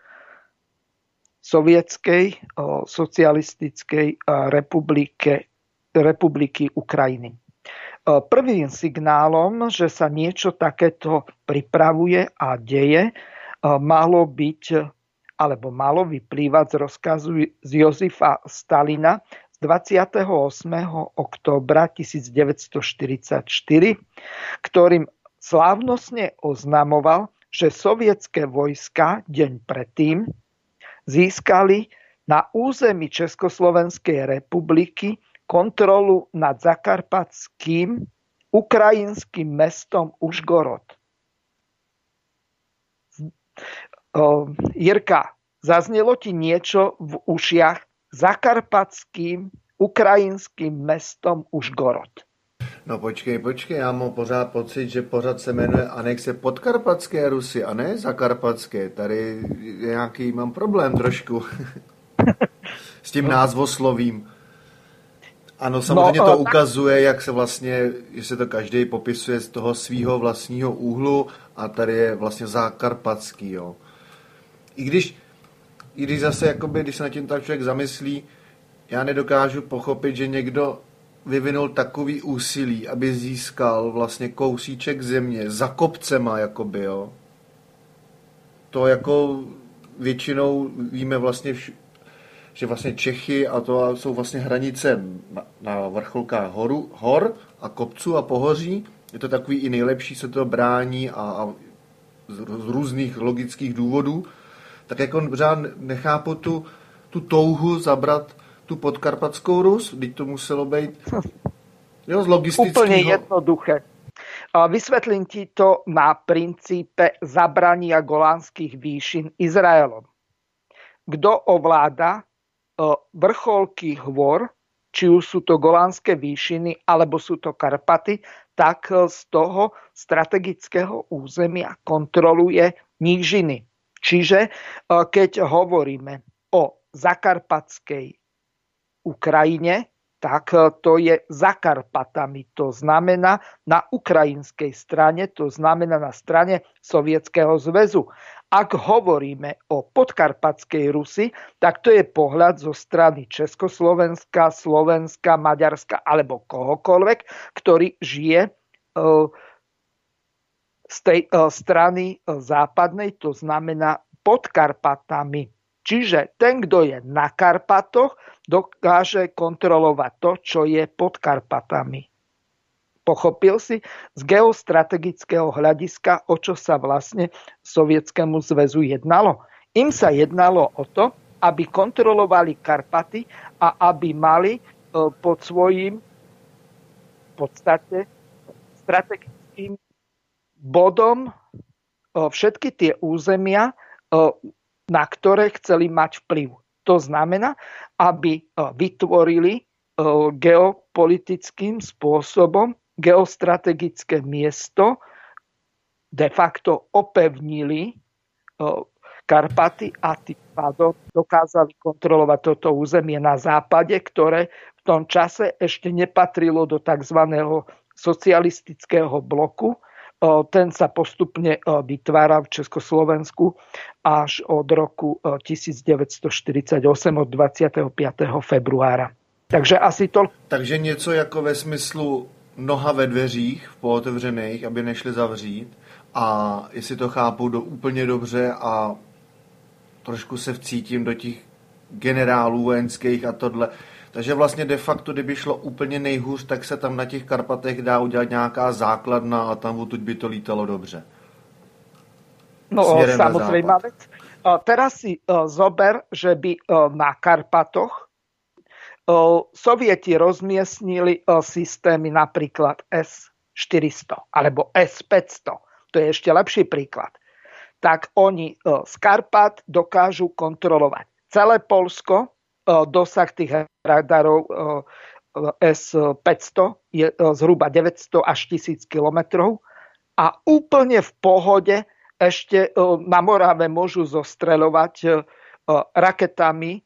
sovietskej socialistickej republike, republiky Ukrajiny. Prvým signálom, že sa niečo takéto pripravuje a deje, malo byť, alebo malo vyplývať z rozkazu z Jozefa Stalina z dvadsiateho ôsmeho októbra devätnásťstoštyridsaťštyri, ktorým slávnostne oznamoval, že sovietské vojska deň predtým získali na území Československej republiky kontrolu nad zakarpatským ukrajinským mestom Užgorod. Jirka, zaznelo ti niečo v ušiach zakarpatským ukrajinským mestom Užgorod? No počkej, počkej, já mám pořád pocit, že pořád se jmenuje anexe Podkarpatské Rusy a ne Zakarpatské. Tady nějaký mám problém trošku s tím názvoslovím. Ano, samozřejmě to ukazuje, jak se vlastně, že se to každý popisuje z toho svého vlastního úhlu a tady je vlastně zakarpatský, jo. I když, i když zase, jakoby, když se na tím tak člověk zamyslí, já nedokážu pochopit, že někdo vyvinul takový úsilí, aby získal vlastně kousíček země za kopcema, jakoby, jo. To jako většinou víme vlastně vš- že vlastně Čechy a to jsou vlastně hranice na, na vrcholkách horu, hor a kopců a pohoří. Je to takový i nejlepší, se to brání a, a z, z různých logických důvodů. Tak jako pořád nechápu tu, tu touhu zabrat tu Podkarpatskou Rus, když to muselo být jo, z logistického... Úplně jednoduché. Vysvetlím ti to na princípe zabrania Golánskych výšin Izraelom. Kto ovláda vrcholky hôr, či už sú to Golánske výšiny, alebo sú to Karpaty, tak z toho strategického územia kontroluje nížiny. Čiže keď hovoríme o zakarpatskej Ukrajine, tak to je za Karpatami. To znamená na ukrajinskej strane, to znamená na strane Sovietskeho zväzu. Ak hovoríme o podkarpatskej Rusi, tak to je pohľad zo strany Československa, Slovenska, Maďarska alebo kohokoľvek, ktorý žije z tej strany západnej, to znamená pod Karpatami. Čiže ten, kto je na Karpatoch, dokáže kontrolovať to, čo je pod Karpatami. Pochopil si z geostrategického hľadiska, o čo sa vlastne Sovietskému zväzu jednalo? Im sa jednalo o to, aby kontrolovali Karpaty a aby mali pod svojím v podstate strategickým bodom všetky tie územia, na ktoré chceli mať vplyv. To znamená, aby vytvorili geopolitickým spôsobom geostrategické miesto, de facto opevnili Karpaty a tým pádom dokázali kontrolovať toto územie na západe, ktoré v tom čase ešte nepatrilo do tzv. Socialistického bloku. Ten sa postupne vytvára v Československu až od roku devätnásťstoštyridsaťosem, od dvadsiateho piateho februára. Takže asi to... Takže něco jako ve smyslu noha ve dveřích, v pootevřených, aby nešli zavřít. A jestli to chápu do úplně dobře a trošku se vcítím do těch generálů vojenských a tohle. Takže vlastně de facto, kdyby šlo úplně nejhůř, tak se tam na těch Karpatech dá udělat nějaká základna a tam odtud by to lítalo dobře. No samozrejme vec. Teraz si zober, že by na Karpatoch Sovieti rozmiestnili systémy napríklad es štyristo alebo es päťsto. To je ešte lepší príklad. Tak oni z Karpat dokážu kontrolovať celé Poľsko. Dosah tých radarov es päťsto je zhruba deväťsto až tisíc kilometrov a úplne v pohode ešte na Morave môžu zostreľovať raketami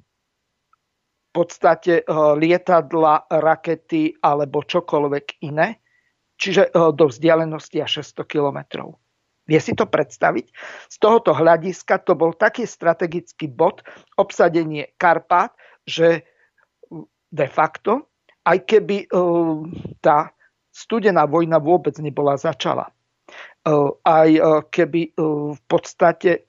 v podstate lietadla, rakety alebo čokoľvek iné, čiže do vzdialenosti až šesťsto kilometrov. Vie si to predstaviť? Z tohoto hľadiska to bol taký strategický bod, obsadenie Karpát, že de facto, aj keby tá studená vojna vôbec nebola začala, aj keby v podstate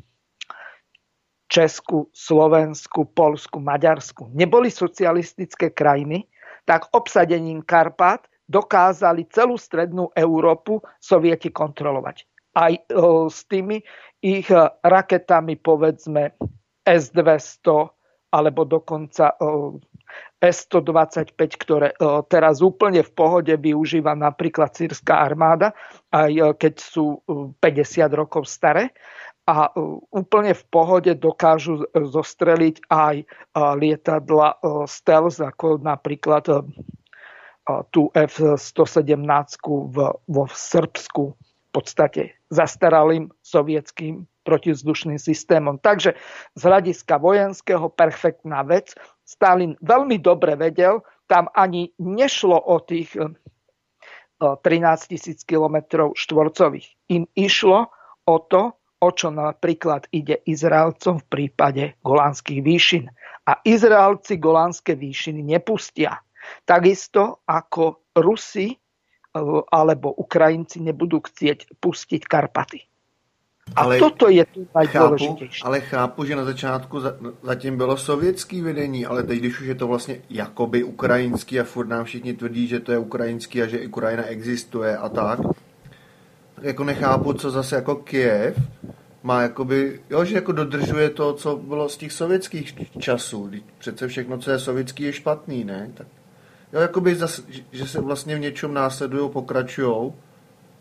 Česku, Slovensku, Poľsku, Maďarsku neboli socialistické krajiny, tak obsadením Karpát dokázali celú strednú Európu Sovieti kontrolovať. Aj s tými ich raketami, povedzme es dvesto, alebo dokonca es stodvadsaťpäť, ktoré teraz úplne v pohode využíva napríklad sýrska armáda, aj keď sú päťdesiat rokov staré. A úplne v pohode dokážu zostreliť aj lietadla stealth, ako napríklad tú ef stosedemnásť vo Srbsku, v podstate zastaralým sovietským protizdušným systémom. Takže z hľadiska vojenského perfektná vec. Stalin veľmi dobre vedel, tam ani nešlo o tých trinásťtisíc kilometrov štvorcových. Im išlo o to, o čo napríklad ide Izraelcom v prípade Golánskych výšin. A Izraelci Golánske výšiny nepustia. Takisto ako Rusi alebo Ukrajinci nebudú chcieť pustiť Karpaty. A ale toto je tu najdôležitejšie. Ale chápu, že na začátku zatím bylo sovětský vedení, ale teď, když už je to vlastně jakoby ukrajinský a furt nám všichni tvrdí, že to je ukrajinský a že Ukrajina existuje a tak, tak jako nechápu, co zase jako Kyjev má jakoby, jo, že jako dodržuje to, co bylo z těch sovětských časů. Přece všechno, co je sovětský, je špatný, ne? Tak, jo, jakoby zase, že se vlastně v něčem následujou, pokračujou.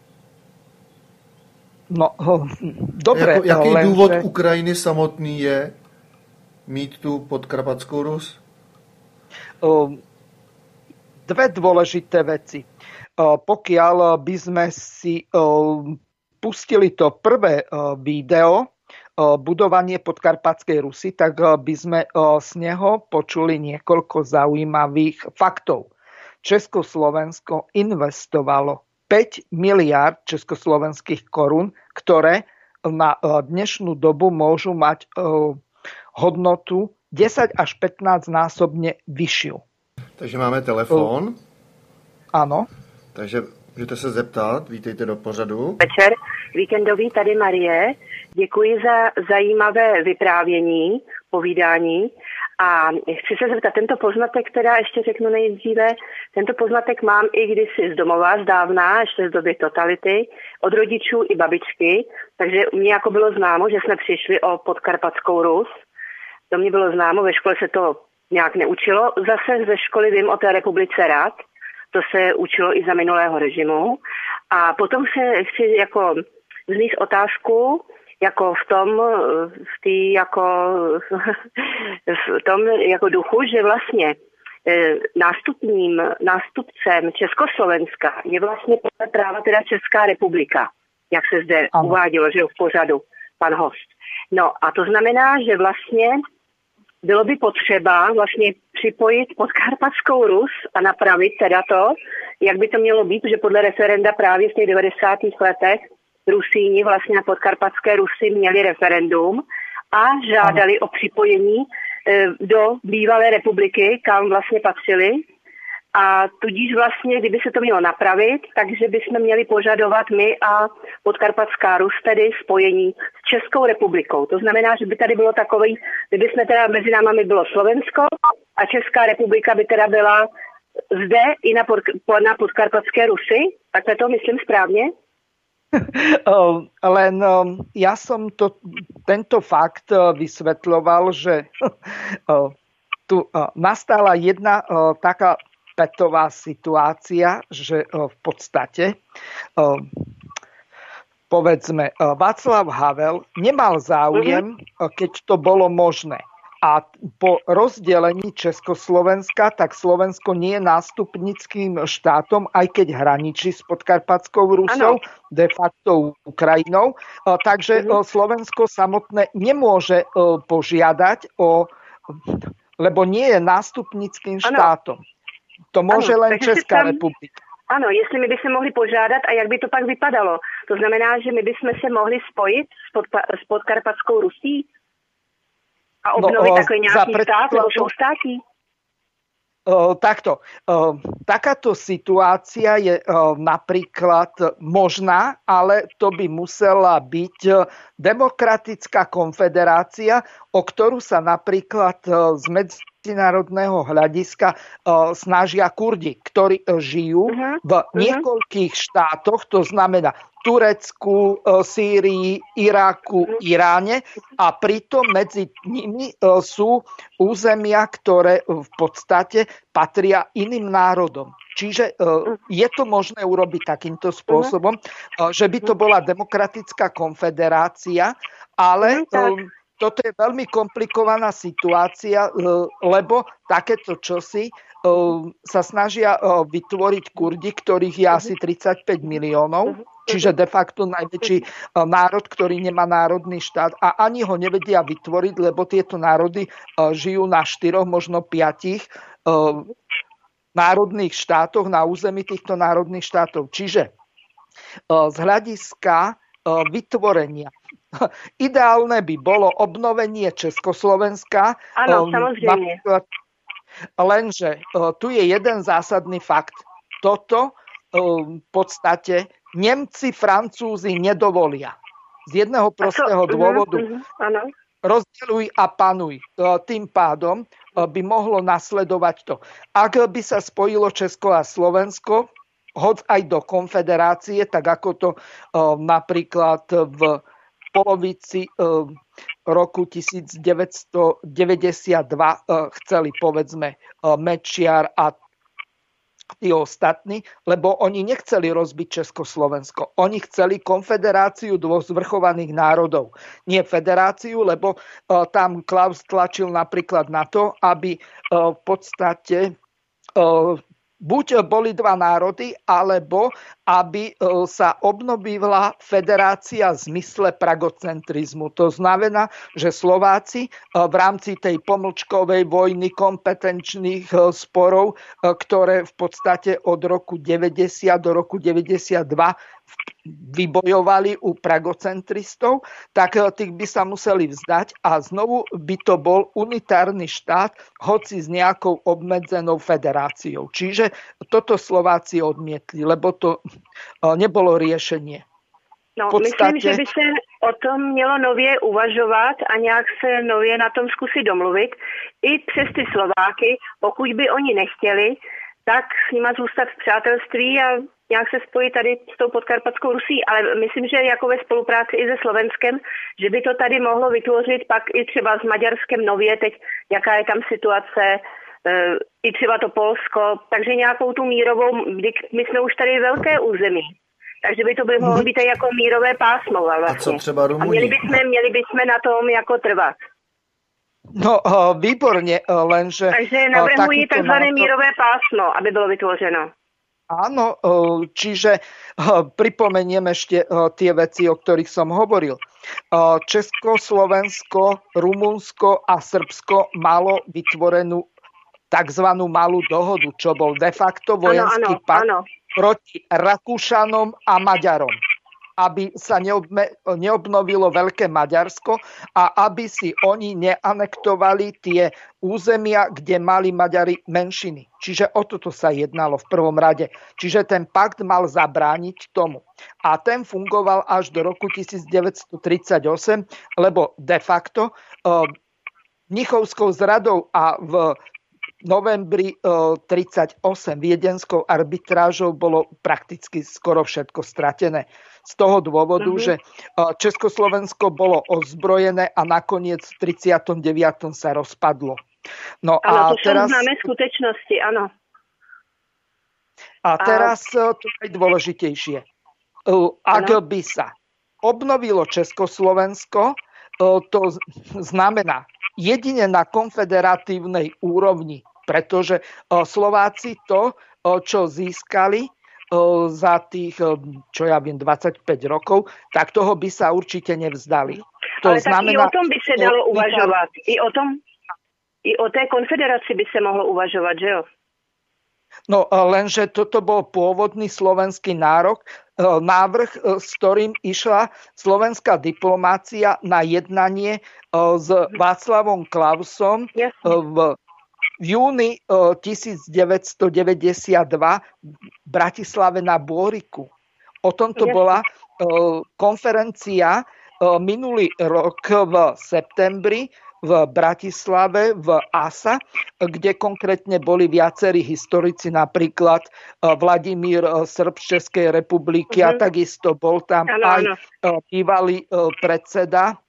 No, dobre. Jako, jaký len, důvod že... Ukrajiny samotný je mít tu Podkarpatskou Rus? Dve dôležité veci. Pokiaľ by sme si pustili to prvé video, budovanie Podkarpatskej Rusy, tak by sme z neho počuli niekoľko zaujímavých faktov. Československo investovalo päť miliárd československých korún, ktoré na dnešnú dobu môžu mať hodnotu desať až pätnásť násobne vyššiu. Takže máme telefon. Ano. Takže můžete se zeptat, vítejte do pořadu. Večer, víkendový, tady Marie. Děkuji za zajímavé vyprávění, povídání. A chci se zeptat, tento poznatek, teda ještě řeknu nejdříve, tento poznatek mám i kdysi z domova, z dávna, ještě z doby totality, od rodičů i babičky, takže mě jako bylo známo, že jsme přišli o Podkarpatskou Rus. To mě bylo známo, ve škole se to nějak neučilo. Zase ze školy vím o té republice Rad, to se učilo i za minulého režimu. A potom se chci jako vznést otázku, jako v tom, v tý, jako, v tom jako duchu, že vlastně nástupním, nástupcem Československa je vlastně podle práva teda Česká republika, jak se zde ano. uvádělo, že v pořadu pan host. No a to znamená, že vlastně bylo by potřeba vlastně připojit Podkarpatskou Rus a napravit teda to, jak by to mělo být, že podle referenda právě v těch devadesátých letech Rusíni vlastně na Podkarpatské Rusy měli referendum a žádali o připojení do bývalé republiky, kam vlastně patřili. A tudíž vlastně, kdyby se to mělo napravit, takže bychom měli požadovat my a Podkarpatská Rus tedy spojení s Českou republikou. To znamená, že by tady bylo takový, kdyby jsme teda mezi námi bylo Slovensko a Česká republika by teda byla zde i na, pod, na Podkarpatské Rusy. Takhle to myslím správně? Len ja som to, tento fakt vysvetľoval, že tu nastala jedna taká petová situácia, že v podstate povedzme Václav Havel nemal záujem, keď to bolo možné. A po rozdelení Československa, tak Slovensko nie je nástupnickým štátom, aj keď hraničí s Podkarpatskou Rusou, ano. de facto Ukrajinou. Takže uh-huh. Slovensko samotné nemôže požiadať o, lebo nie je nástupnickým štátom. To môže ano, len Česká tam... republika. Ano, jestli my bychom mohli požádat a jak by to pak vypadalo. To znamená, že my bychom se mohli spojit s, podpa- s Podkarpatskou Rusí? A obnoviť no, takový nejaký štát, lebo sú štáty? Takto. Takáto situácia je napríklad možná, ale to by musela byť demokratická konfederácia, o ktorú sa napríklad z medzinárodného hľadiska snažia Kurdi, ktorí žijú uh-huh. v niekoľkých štátoch, to znamená Turecku, Sýrii, Iraku, Iráne a pritom medzi nimi sú územia, ktoré v podstate patria iným národom. Čiže je to možné urobiť takýmto spôsobom, že by to bola demokratická konfederácia, ale toto je veľmi komplikovaná situácia, lebo takéto čosi sa snažia vytvoriť Kurdi, ktorých je asi tridsaťpäť miliónov, čiže de facto najväčší národ, ktorý nemá národný štát a ani ho nevedia vytvoriť, lebo tieto národy žijú na štyroch, možno piatich národných štátoch, na území týchto národných štátov. Čiže z hľadiska vytvorenia ideálne by bolo obnovenie Československa. Áno, samozrejme. Lenže tu je jeden zásadný fakt. Toto v podstate Nemci, Francúzi nedovolia. Z jedného prostého dôvodu. Uh-huh, uh-huh, rozdeľuj a panuj. Tým pádom by mohlo nasledovať to. Ak by sa spojilo Česko a Slovensko, hoď aj do konfederácie, tak ako to napríklad v polovici roku devätnásťstodeväťdesiatdva chceli povedzme Mečiar a tí ostatní, lebo oni nechceli rozbiť Československo. Oni chceli konfederáciu dvoch zvrchovaných národov. Nie federáciu, lebo uh, tam Klaus tlačil napríklad na to, aby uh, v podstate uh, buď boli dva národy, alebo aby sa obnovila federácia v zmysle pragocentrizmu. To znamená, že Slováci v rámci tej pomlčkovej vojny kompetenčných sporov, ktoré v podstate od roku deväťdesiat do roku deväťdesiatdva vybojovali u pragocentristov, tak tých by sa museli vzdať a znovu by to bol unitárny štát, hoci s nejakou obmedzenou federáciou. Čiže toto Slováci odmietli, lebo to nebolo riešenie. No, podstate... myslím, že by se o tom mělo nově uvažovat a nějak se nově na tom zkusit domluvit. I přes ty Slováky, pokud by oni nechtěli, tak s nima zůstat v přátelství a nějak se spojit tady s tou podkarpatskou Rusí. Ale myslím, že jako ve spolupráci i se Slovenskem, že by to tady mohlo vytvořit pak i třeba s Maďarskem nově, teď jaká je tam situace, i třeba to Polsko, takže nějakou tu mírovou, my jsme už tady velké území. Takže by to by mohlo být jako mírové pásmo vlastně. A co třeba Rumuni? A měli bychom, měli bychom na tom jako trvat. No, výborne, lenže... Takže navrhují takzvané mírové pásmo, aby bylo vytvořeno. Áno, čiže pripomeniem ešte tie veci, o ktorých som hovoril. Česko, Slovensko, Rumunsko a Srbsko malo vytvorenú takzvanú malú dohodu, čo bol de facto vojenský ano, ano, pakt ano. proti Rakúšanom a Maďarom, aby sa neobme, neobnovilo Veľké Maďarsko a aby si oni neanektovali tie územia, kde mali Maďari menšiny. Čiže o toto sa jednalo v prvom rade. Čiže ten pakt mal zabrániť tomu. A ten fungoval až do roku devätnásťtridsaťosem, lebo de facto uh, Mnichovskou zradou a v novembri tridsaťosem viedenskou arbitrážou bolo prakticky skoro všetko stratené. Z toho dôvodu, mm-hmm. že Československo bolo ozbrojené a nakoniec v tridsiatom deviatom sa rozpadlo. No ano, a to teraz, sú známe skutečnosti, áno. A teraz a... to je dôležitejšie. Ak ano. by sa obnovilo Československo, to znamená jedine na konfederatívnej úrovni, pretože Slováci to, čo získali za tých, čo ja viem, dvadsaťpäť rokov, tak toho by sa určite nevzdali. To Ale znamená, tak i o tom by sa dalo uvažovať. I o tom, i o té konfederácii by sa mohlo uvažovať, že jo? No lenže toto bol pôvodný slovenský nárok, návrh, s ktorým išla slovenská diplomácia na jednanie s Václavom Klausom v júni devätnásťstodeväťdesiatdva v Bratislave na Bôriku. O tomto bola konferencia minulý rok v septembri v Bratislave, v á es á, kde konkrétne boli viacerí historici, napríklad Vladimír Srb z Českej republiky uh-huh. a takisto bol tam ano, aj ano. bývalý predseda,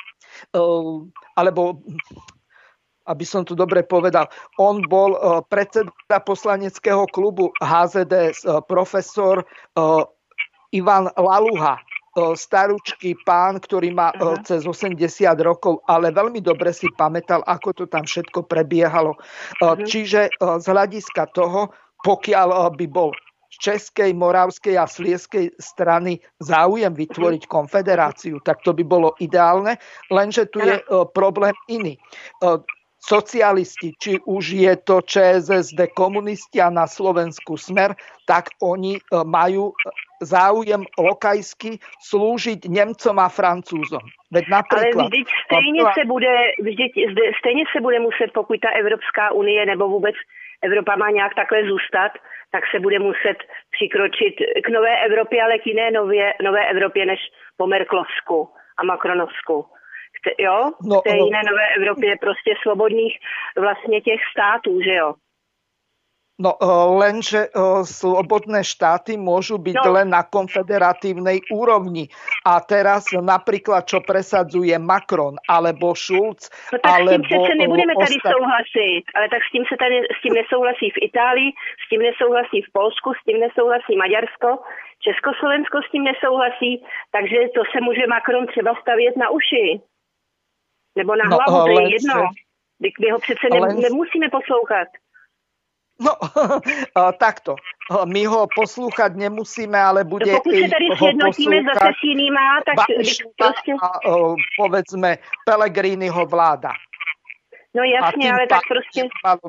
alebo aby som to dobre povedal, on bol predseda poslaneckého klubu há zet dé es, profesor Ivan Laluha, starúčky pán, ktorý má uh-huh. cez osemdesiat rokov, ale veľmi dobre si pamätal, ako to tam všetko prebiehalo. Uh-huh. Čiže z hľadiska toho, pokiaľ by bol z Českej, Moravskej a Slieskej strany záujem vytvoriť uh-huh. konfederáciu, tak to by bolo ideálne, lenže tu je uh, problém iný. Uh, socialisti, či už je to čé es es dé, komunisti a na Slovensku Smer, tak oni majú záujem lokajsky slúžiť Nemcom a Francúzom. Veď napríklad... Ale vždyť stejně se bude, vždyť stejně se bude muset, pokud ta Evropská unie nebo vůbec Evropa má nějak takhle zůstat, tak se bude muset přikročit k nové Evropě, ale k jiné nově, nové Evropě než po Merklovsku a Macronovsku. Jo? No, v té jiné nové Evropě prostě svobodných vlastně těch států, že jo? No lenže slobodné štáty môžu byť no. len na konfederatívnej úrovni. A teraz napríklad, čo presadzuje Macron alebo Schulz, no tak alebo... s tím přece nebudeme tady ostat... souhlasit, ale tak s tím se tady s tím nesouhlasí v Itálii, s tím nesouhlasí v Polsku, s tím nesouhlasí Maďarsko, Československo s tím nesouhlasí, takže to se může Macron třeba stavět na uši. Nebo na hlavu, no, to je jedno. My ho přece ne, len... nemusíme poslouchat. No, takto. My ho poslúchať nemusíme, ale bude no, pokud sa tady sjednotíme zase s jinýma, tak proste... a, povedzme, Pellegriniho vláda. No jasne, ale tak proste...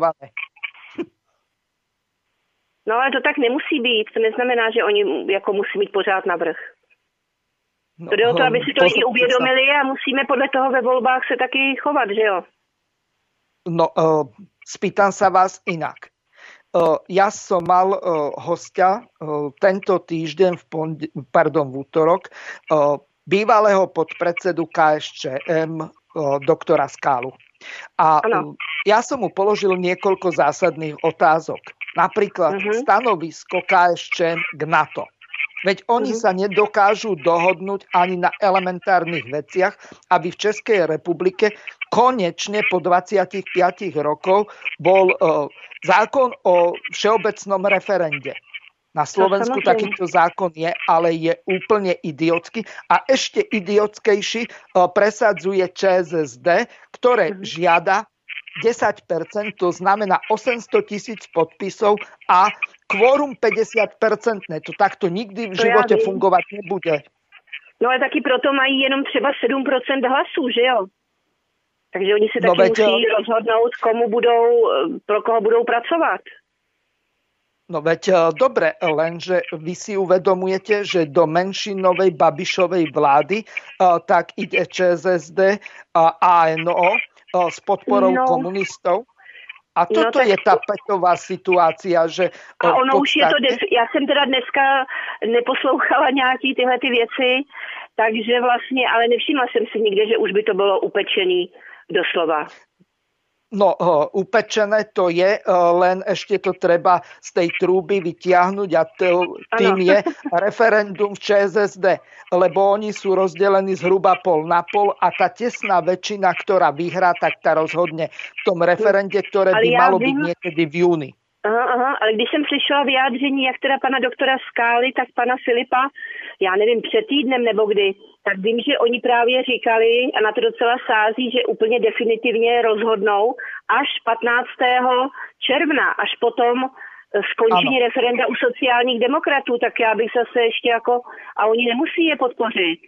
No ale to tak nemusí být. To neznamená, že oni jako musí mít pořád navrch. No, to jde o to, aby si to lidi uvědomili a musíme podle toho ve volbách se taky chovat, že jo? No, uh, spýtam sa vás inak. Ja som mal hostia tento týždeň, v, pond- pardon, v útorok, bývalého podpredsedu ká es čé em, doktora Skálu. A ano. Ja som mu položil niekoľko zásadných otázok. Napríklad uh-huh. stanovisko ká es čé em k NATO. Veď oni uh-huh. sa nedokážu dohodnúť ani na elementárnych veciach, aby v Českej republike konečne po dvadsiatich piatich rokov bol uh, zákon o všeobecnom referende. Na Slovensku takýto zákon je, ale je úplne idiotský a ešte idiotskejší uh, presadzuje Čé es es dé, ktoré uh-huh. žiada desať percent, to znamená osemsto tisíc podpisov a kvórum päťdesiat percent. To takto nikdy v živote fungovať nebude. No ale taky proto mají jenom třeba sedm procent hlasů, že jo? Takže oni se taky no, veď, musí rozhodnout, komu budou, pro koho budou pracovat. No veď dobre, lenže vy si uvedomujete, že do menšinovej Babišovej vlády tak ide Čé es es dé a á en ó s podporou no. komunistov. A toto no, je tá petová situácia, že... A ono podstate... už je to... Def- ja som teda dneska neposlouchala nějaký tyhle ty věci, takže vlastně, ale nevšimla jsem si nikde, že už by to bylo upečený doslova. No, upečené to je, len ešte to treba z tej trúby vytiahnuť a tým je referendum v Čé es es dé, lebo oni sú rozdelení zhruba pol na pol a tá tesná väčšina, ktorá vyhrá, tak tá rozhodne v tom referende, ktoré by malo byť niekedy v júni. Aha, aha, ale když jsem slyšela vyjádření, jak teda pana doktora Skály, tak pana Filipa, já nevím, před týdnem nebo kdy, tak vím, že oni právě říkali, a na to docela sází, že úplně definitivně rozhodnou až patnáctého června, až potom skončení ano. referenda u sociálních demokratů, tak já bych zase ještě jako, a oni nemusí je podpořit.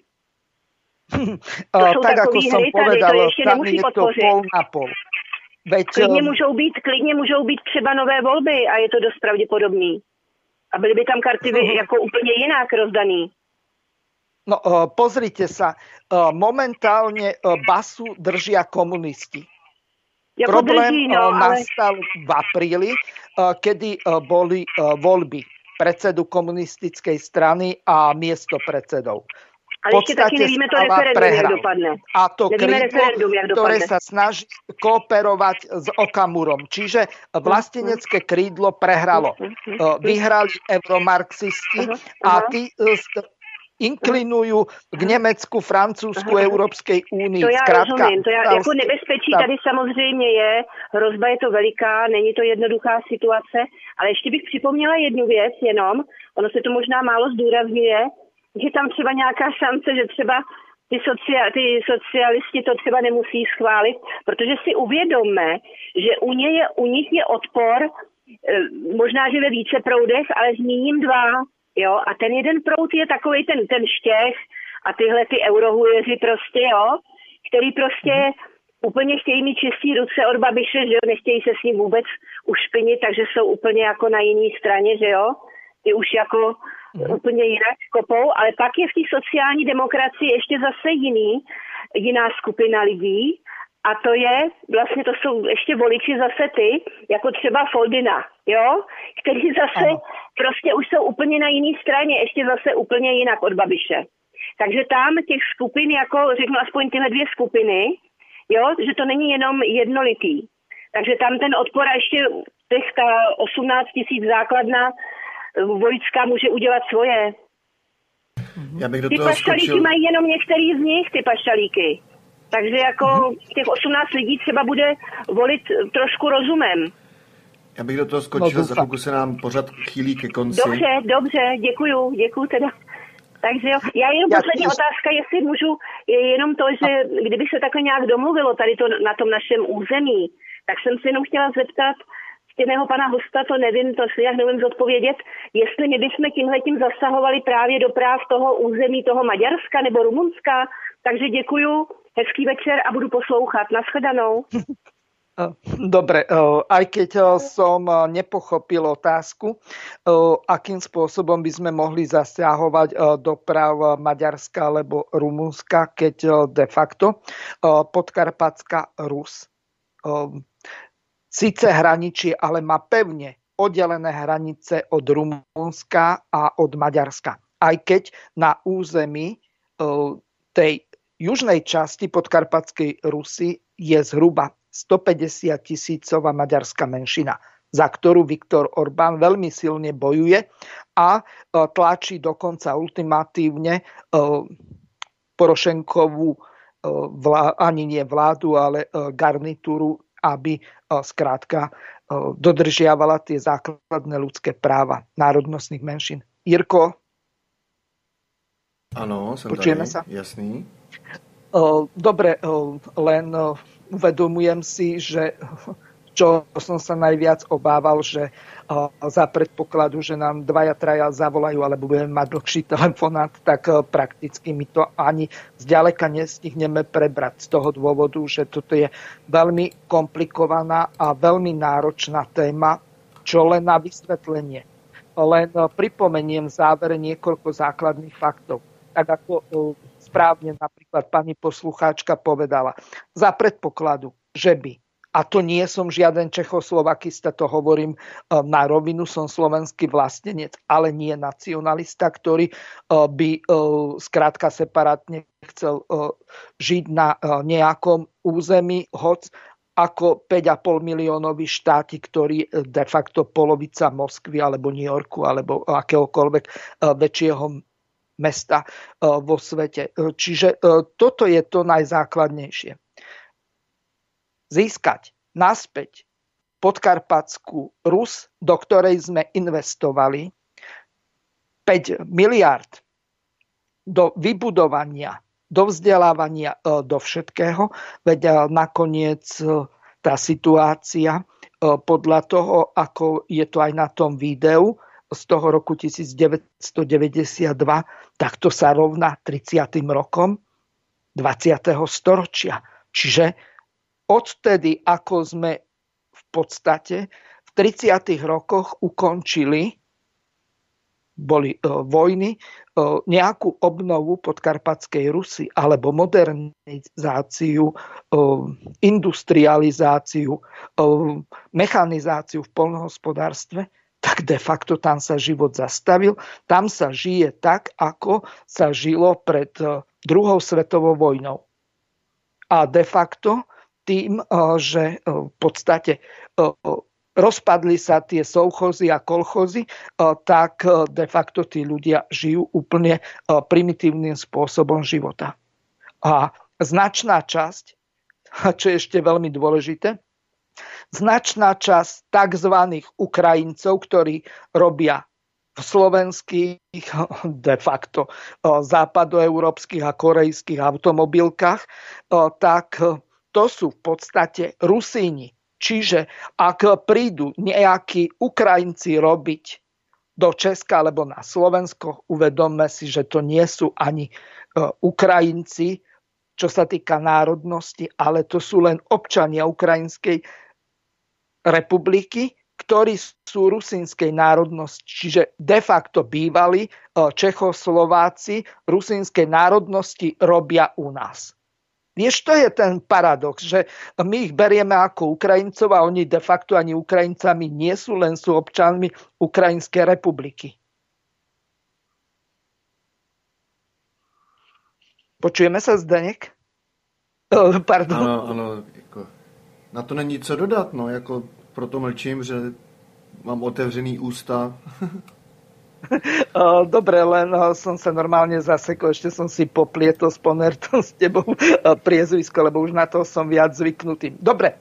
To jsou tak ako som hry, povedal, tady, to ještě nemusí je podpořit. To pol na pol. Veď, klidně, můžou být, klidně můžou být třeba nové volby a je to dost pravděpodobný. A byly by tam karty uh-huh. jako úplně jinak rozdaný. No pozrite sa, momentálne basu držia komunisti. Jako Problém drží, no, nastal ale... v apríli, kedy boli voľby predsedu komunistickej strany a miesto predsedov. Ale ešte taky nevíme to referendum, prehral. Jak dopadne. A to krídlo, ktoré sa snaží kooperovať s Okamurom. Čiže vlastenecké krídlo prehralo. Vyhrali euromarxisti a tí inklinujú k Německu, Francúzsku, Európskej únii. To já Zkrátka, rozumím. To já, jako nebezpečí tady samozřejmě je, hrozba je to veliká, není to jednoduchá situace, ale ještě bych připomněla jednu věc jenom, ono se to možná málo zdůrazňuje, že tam třeba nějaká šance, že třeba ty, socia- ty socialisti to třeba nemusí schválit, protože si uvědomme, že u, ně je, u nich je odpor, možná, že ve více proudech, ale zmíním dva. Jo, a ten jeden proud je takovej ten, ten štěch a tyhle ty eurohujeři prostě, jo, který prostě mm. úplně chtějí mít čistý ruce od Babiše, že jo, nechtějí se s ním vůbec ušpinit, takže jsou úplně jako na jiné straně, že jo, ty už jako mm. úplně jinak kopou, ale pak je v té sociální demokracii ještě zase jiný, jiná skupina lidí, a to je, vlastně to jsou ještě voliči zase ty, jako třeba Foldina, jo, kteří zase ano. prostě už jsou úplně na jiné straně, ještě zase úplně jinak od Babiše. Takže tam těch skupin, jako řeknu aspoň tyhle dvě skupiny, jo, že to není jenom jednolitý. Takže tam ten odpor a ještě těch ta osmnáct tisíc základna vojska může udělat svoje. Já bych do ty toho pašalíky skočil... mají jenom některý z nich, ty pašalíky. Takže jako mm-hmm. těch osmnáct lidí třeba bude volit trošku rozumem. Já bych do toho skočil, no, za chvilku se nám pořád chýlí ke konci. Dobře, dobře, děkuju, děkuju teda. Takže jo, já jenom poslední Já... otázka, jestli můžu, je jenom to, že kdyby se takhle nějak domluvilo tady to na tom našem území, tak jsem se jenom chtěla zeptat ctěného pana hosta, to nevím, to si jak nevím zodpovědět, jestli my bychom tímhletím zasahovali právě do práv toho území, toho Maďarska nebo Rumunska. Takže děkuju, hezký večer a budu poslouchat. Nashledanou. Dobre, aj keď som nepochopil otázku, akým spôsobom by sme mohli zasiahovať do práv Maďarska alebo Rumunska, keď de facto Podkarpatská Rus síce hraničí, ale má pevne oddelené hranice od Rumunska a od Maďarska. Aj keď na území tej južnej časti Podkarpatskej Rusy je zhruba stopäťdesiat tisícová maďarská menšina, za ktorú Viktor Orbán veľmi silne bojuje a tlačí dokonca ultimatívne Porošenkovú vlá, ani nie vládu, ale garnitúru, aby skrátka dodržiavala tie základné ľudské práva národnostných menšín. Jirko? Áno, som počujeme tady, sa? Jasný. Dobre, len uvedomujem si, že čo som sa najviac obával, že za predpokladu, že nám dvaja, traja zavolajú, alebo budeme mať dlhší telefonát, tak prakticky my to ani zďaleka nestihneme prebrať z toho dôvodu, že toto je veľmi komplikovaná a veľmi náročná téma, čo len na vysvetlenie. Len pripomeniem v závere niekoľko základných faktov. Tak ako správne napríklad pani poslucháčka povedala, za predpokladu, že by, a to nie som žiaden Čechoslovakista, to hovorím na rovinu, som slovenský vlastenec, ale nie nacionalista, ktorý by skrátka separátne chcel žiť na nejakom území, hoc ako päť a pol miliónový štáti, ktorý de facto polovica Moskvy alebo New Yorku alebo akéhokoľvek väčšieho mesta vo svete. Čiže toto je to najzákladnejšie. Získať naspäť Podkarpatskú Rus, do ktorej sme investovali päť miliárd do vybudovania, do vzdelávania, do všetkého, veď nakoniec tá situácia podľa toho, ako je to aj na tom videu, z toho roku devätnásťstodeväťdesiatdva, tak to sa rovná tridsiatym rokom dvadsiateho storočia. Čiže odtedy, ako sme v podstate v tridsiatych rokoch ukončili, boli e, vojny, e, nejakú obnovu Podkarpatskej Rusy alebo modernizáciu, e, industrializáciu, e, mechanizáciu v poľnohospodárstve, tak de facto tam sa život zastavil. Tam sa žije tak, ako sa žilo pred druhou svetovou vojnou. A de facto tým, že v podstate rozpadli sa tie sovchozy a kolchozy, tak de facto tí ľudia žijú úplne primitívnym spôsobom života. A značná časť, čo je ešte veľmi dôležité, značná časť tzv. Ukrajincov, ktorí robia v slovenských, de facto západoeurópskych a korejských automobilkách, tak to sú v podstate Rusíni. Čiže ak prídu nejakí Ukrajinci robiť do Česka alebo na Slovensko, uvedomme si, že to nie sú ani Ukrajinci, čo sa týka národnosti, ale to sú len občania Ukrajinskej republiky, ktorí sú rusínskej národnosti, čiže de facto bývali Čechoslováci rusínskej národnosti robia u nás. Vieš, to je ten paradox, že my ich berieme ako Ukrajincov a oni de facto ani Ukrajincami nie sú, len sú občanmi Ukrajinskej republiky. Počujeme sa, Zdeněk? Pardon. Ano, ano, jako, na to není co dodat, no, jako v proto mlčím, že mám otevřený ústa. Dobre, len som sa normálne zasekol, ešte som si poplietol s Ponertom s tebou priezvisko, lebo už na to som viac zvyknutý. Dobre,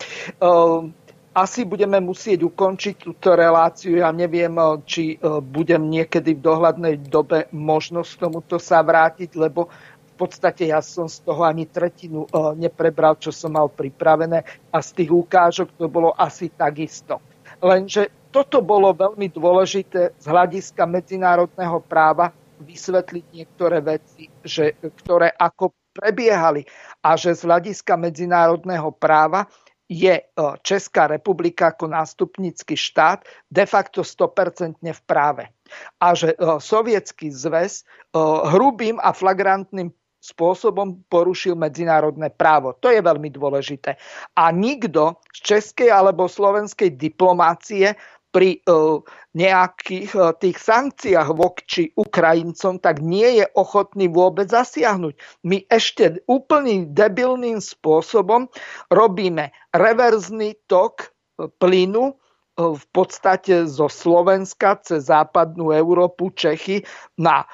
asi budeme musieť ukončiť túto reláciu. Ja neviem, či budem niekedy v dohľadnej dobe možnosť k tomuto sa vrátiť, lebo v podstate ja som z toho ani tretinu neprebral, čo som mal pripravené a z tých ukážok to bolo asi takisto. Lenže toto bolo veľmi dôležité z hľadiska medzinárodného práva vysvetliť niektoré veci, že, ktoré ako prebiehali a že z hľadiska medzinárodného práva je Česká republika ako nástupnícky štát de facto sto percent v práve. A že Sovietsky zväz hrubým a flagrantným spôsobom porušil medzinárodné právo. To je veľmi dôležité. A nikto z českej alebo slovenskej diplomácie pri uh, nejakých uh, tých sankciách voči Ukrajincom tak nie je ochotný vôbec zasiahnuť. My ešte úplným debilným spôsobom robíme reverzný tok plynu uh, v podstate zo Slovenska cez západnú Európu, Čechy na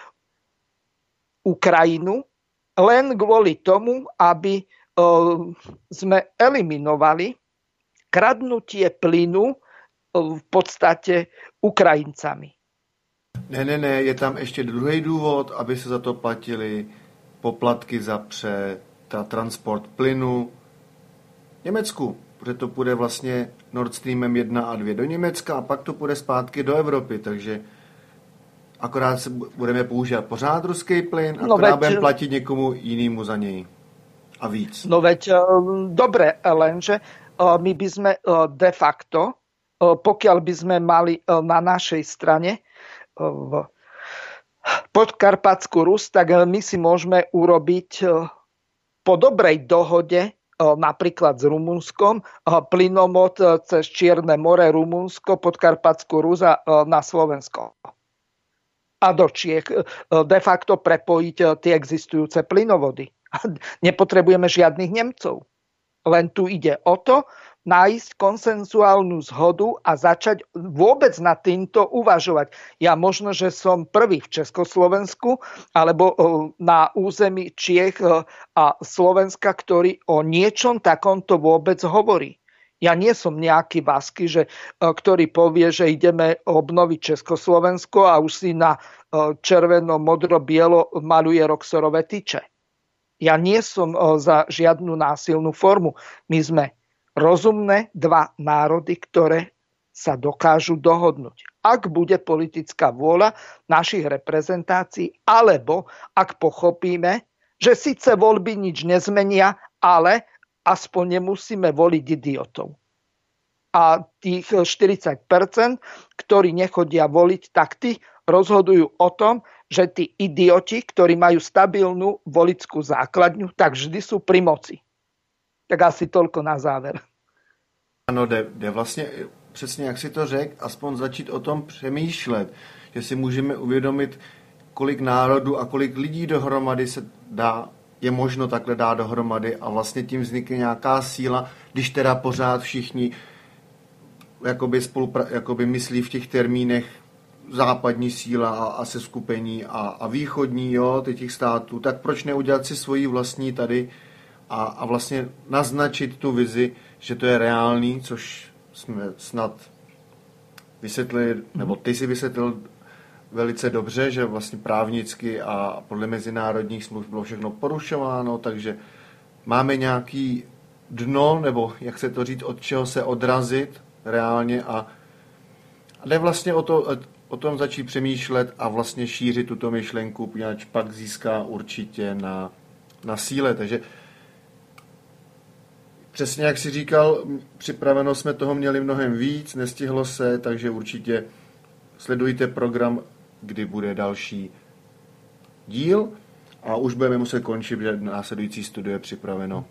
Ukrajinu, len kvôli tomu, aby uh, sme eliminovali kradnutie plynu v podstate Ukrajincami. Ne, ne, ne, je tam ještě druhý důvod, aby se za to platili poplatky za pře, ta transport plynu Německu, protože to půjde vlastně Nord Streamem jedna a dva do Německa a pak to půjde zpátky do Evropy, takže akorát se budeme používat pořád ruský plyn, akorát no veď, budeme platit někomu jinému za něj a víc. No veď, dobre, lenže my by sme de facto, pokiaľ by sme mali na našej strane v Podkarpatskú Rus, tak my si môžeme urobiť po dobrej dohode napríklad s Rumunskom plynomod cez Čierne more, Rumunsko, Podkarpatskú Rus a na Slovensko. A do Čiech de facto prepojiť tie existujúce plynovody. Nepotrebujeme žiadnych Nemcov. Len tu ide o to, nájsť konsenzuálnu zhodu a začať vôbec nad týmto uvažovať. Ja možno, že som prvý v Československu alebo na území Čiech a Slovenska, ktorý o niečom takomto vôbec hovorí. Ja nie som nejaký vasky, že, ktorý povie, že ideme obnoviť Československo a už si na červeno, modro, bielo maluje roxorové tyče. Ja nie som za žiadnu násilnú formu. My sme rozumné dva národy, ktoré sa dokážu dohodnúť. Ak bude politická vôľa našich reprezentácií, alebo ak pochopíme, že síce voľby nič nezmenia, ale aspoň nemusíme voliť idiotov. A tých štyridsať percent, ktorí nechodia voliť, tak tí rozhodujú o tom, že tí idioti, ktorí majú stabilnú voličskú základňu, tak vždy sú pri moci. Tak asi toľko na záver. Ano, jde, jde vlastně přesně, jak si to řekl, aspoň začít o tom přemýšlet, že si můžeme uvědomit, kolik národů a kolik lidí dohromady se dá, je možno takhle dát dohromady a vlastně tím vznikne nějaká síla, když teda pořád všichni jakoby, spolupra- jakoby myslí v těch termínech západní síla a, a seskupení a, a východní, jo, těch států, tak proč neudělat si svoji vlastní tady a, a vlastně naznačit tu vizi, že to je reálný, což jsme snad vysvětlili, nebo ty si vysvětlil velice dobře, že vlastně právnicky a podle mezinárodních smluv bylo všechno porušováno, takže máme nějaký dno, nebo jak se to říct, od čeho se odrazit reálně a, a jde vlastně o, to, o tom začít přemýšlet a vlastně šířit tuto myšlenku, poněvadž pak získá určitě na, na síle, takže přesně jak jsi říkal, připraveno jsme toho měli mnohem víc, nestihlo se, takže určitě sledujte program, kdy bude další díl a už budeme muset končit, že následující studio je připraveno.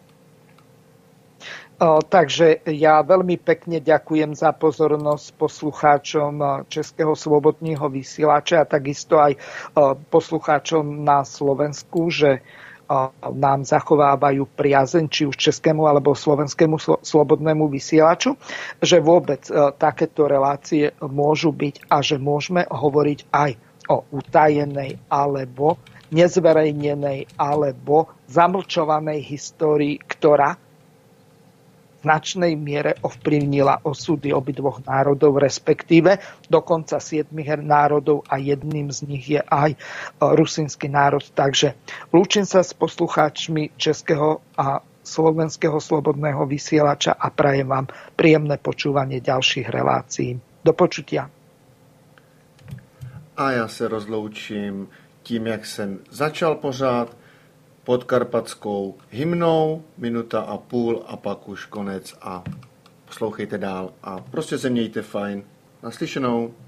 O, takže ja veľmi pekne ďakujem za pozornosť poslucháčom Českého slobodného vysielača a takisto aj o, poslucháčom na Slovensku, že nám zachovávajú priazeň, či už českému alebo slovenskému slobodnému vysielaču, že vôbec takéto relácie môžu byť a že môžeme hovoriť aj o utajenej alebo nezverejnenej alebo zamlčovanej histórii, ktorá v značnej miere ovplyvnila osudy obidvoch národov, respektíve dokonca siedmich národov a jedným z nich je aj rusínsky národ. Takže lúčim sa s poslucháčmi českého a slovenského slobodného vysielača a prajem vám príjemné počúvanie ďalších relácií. Do počutia. A já se rozloučím tím, jak jsem začal pořád, podkarpatskou hymnou, minuta a půl a pak už konec a poslouchejte dál a prostě se mějte fajn. Naslyšenou.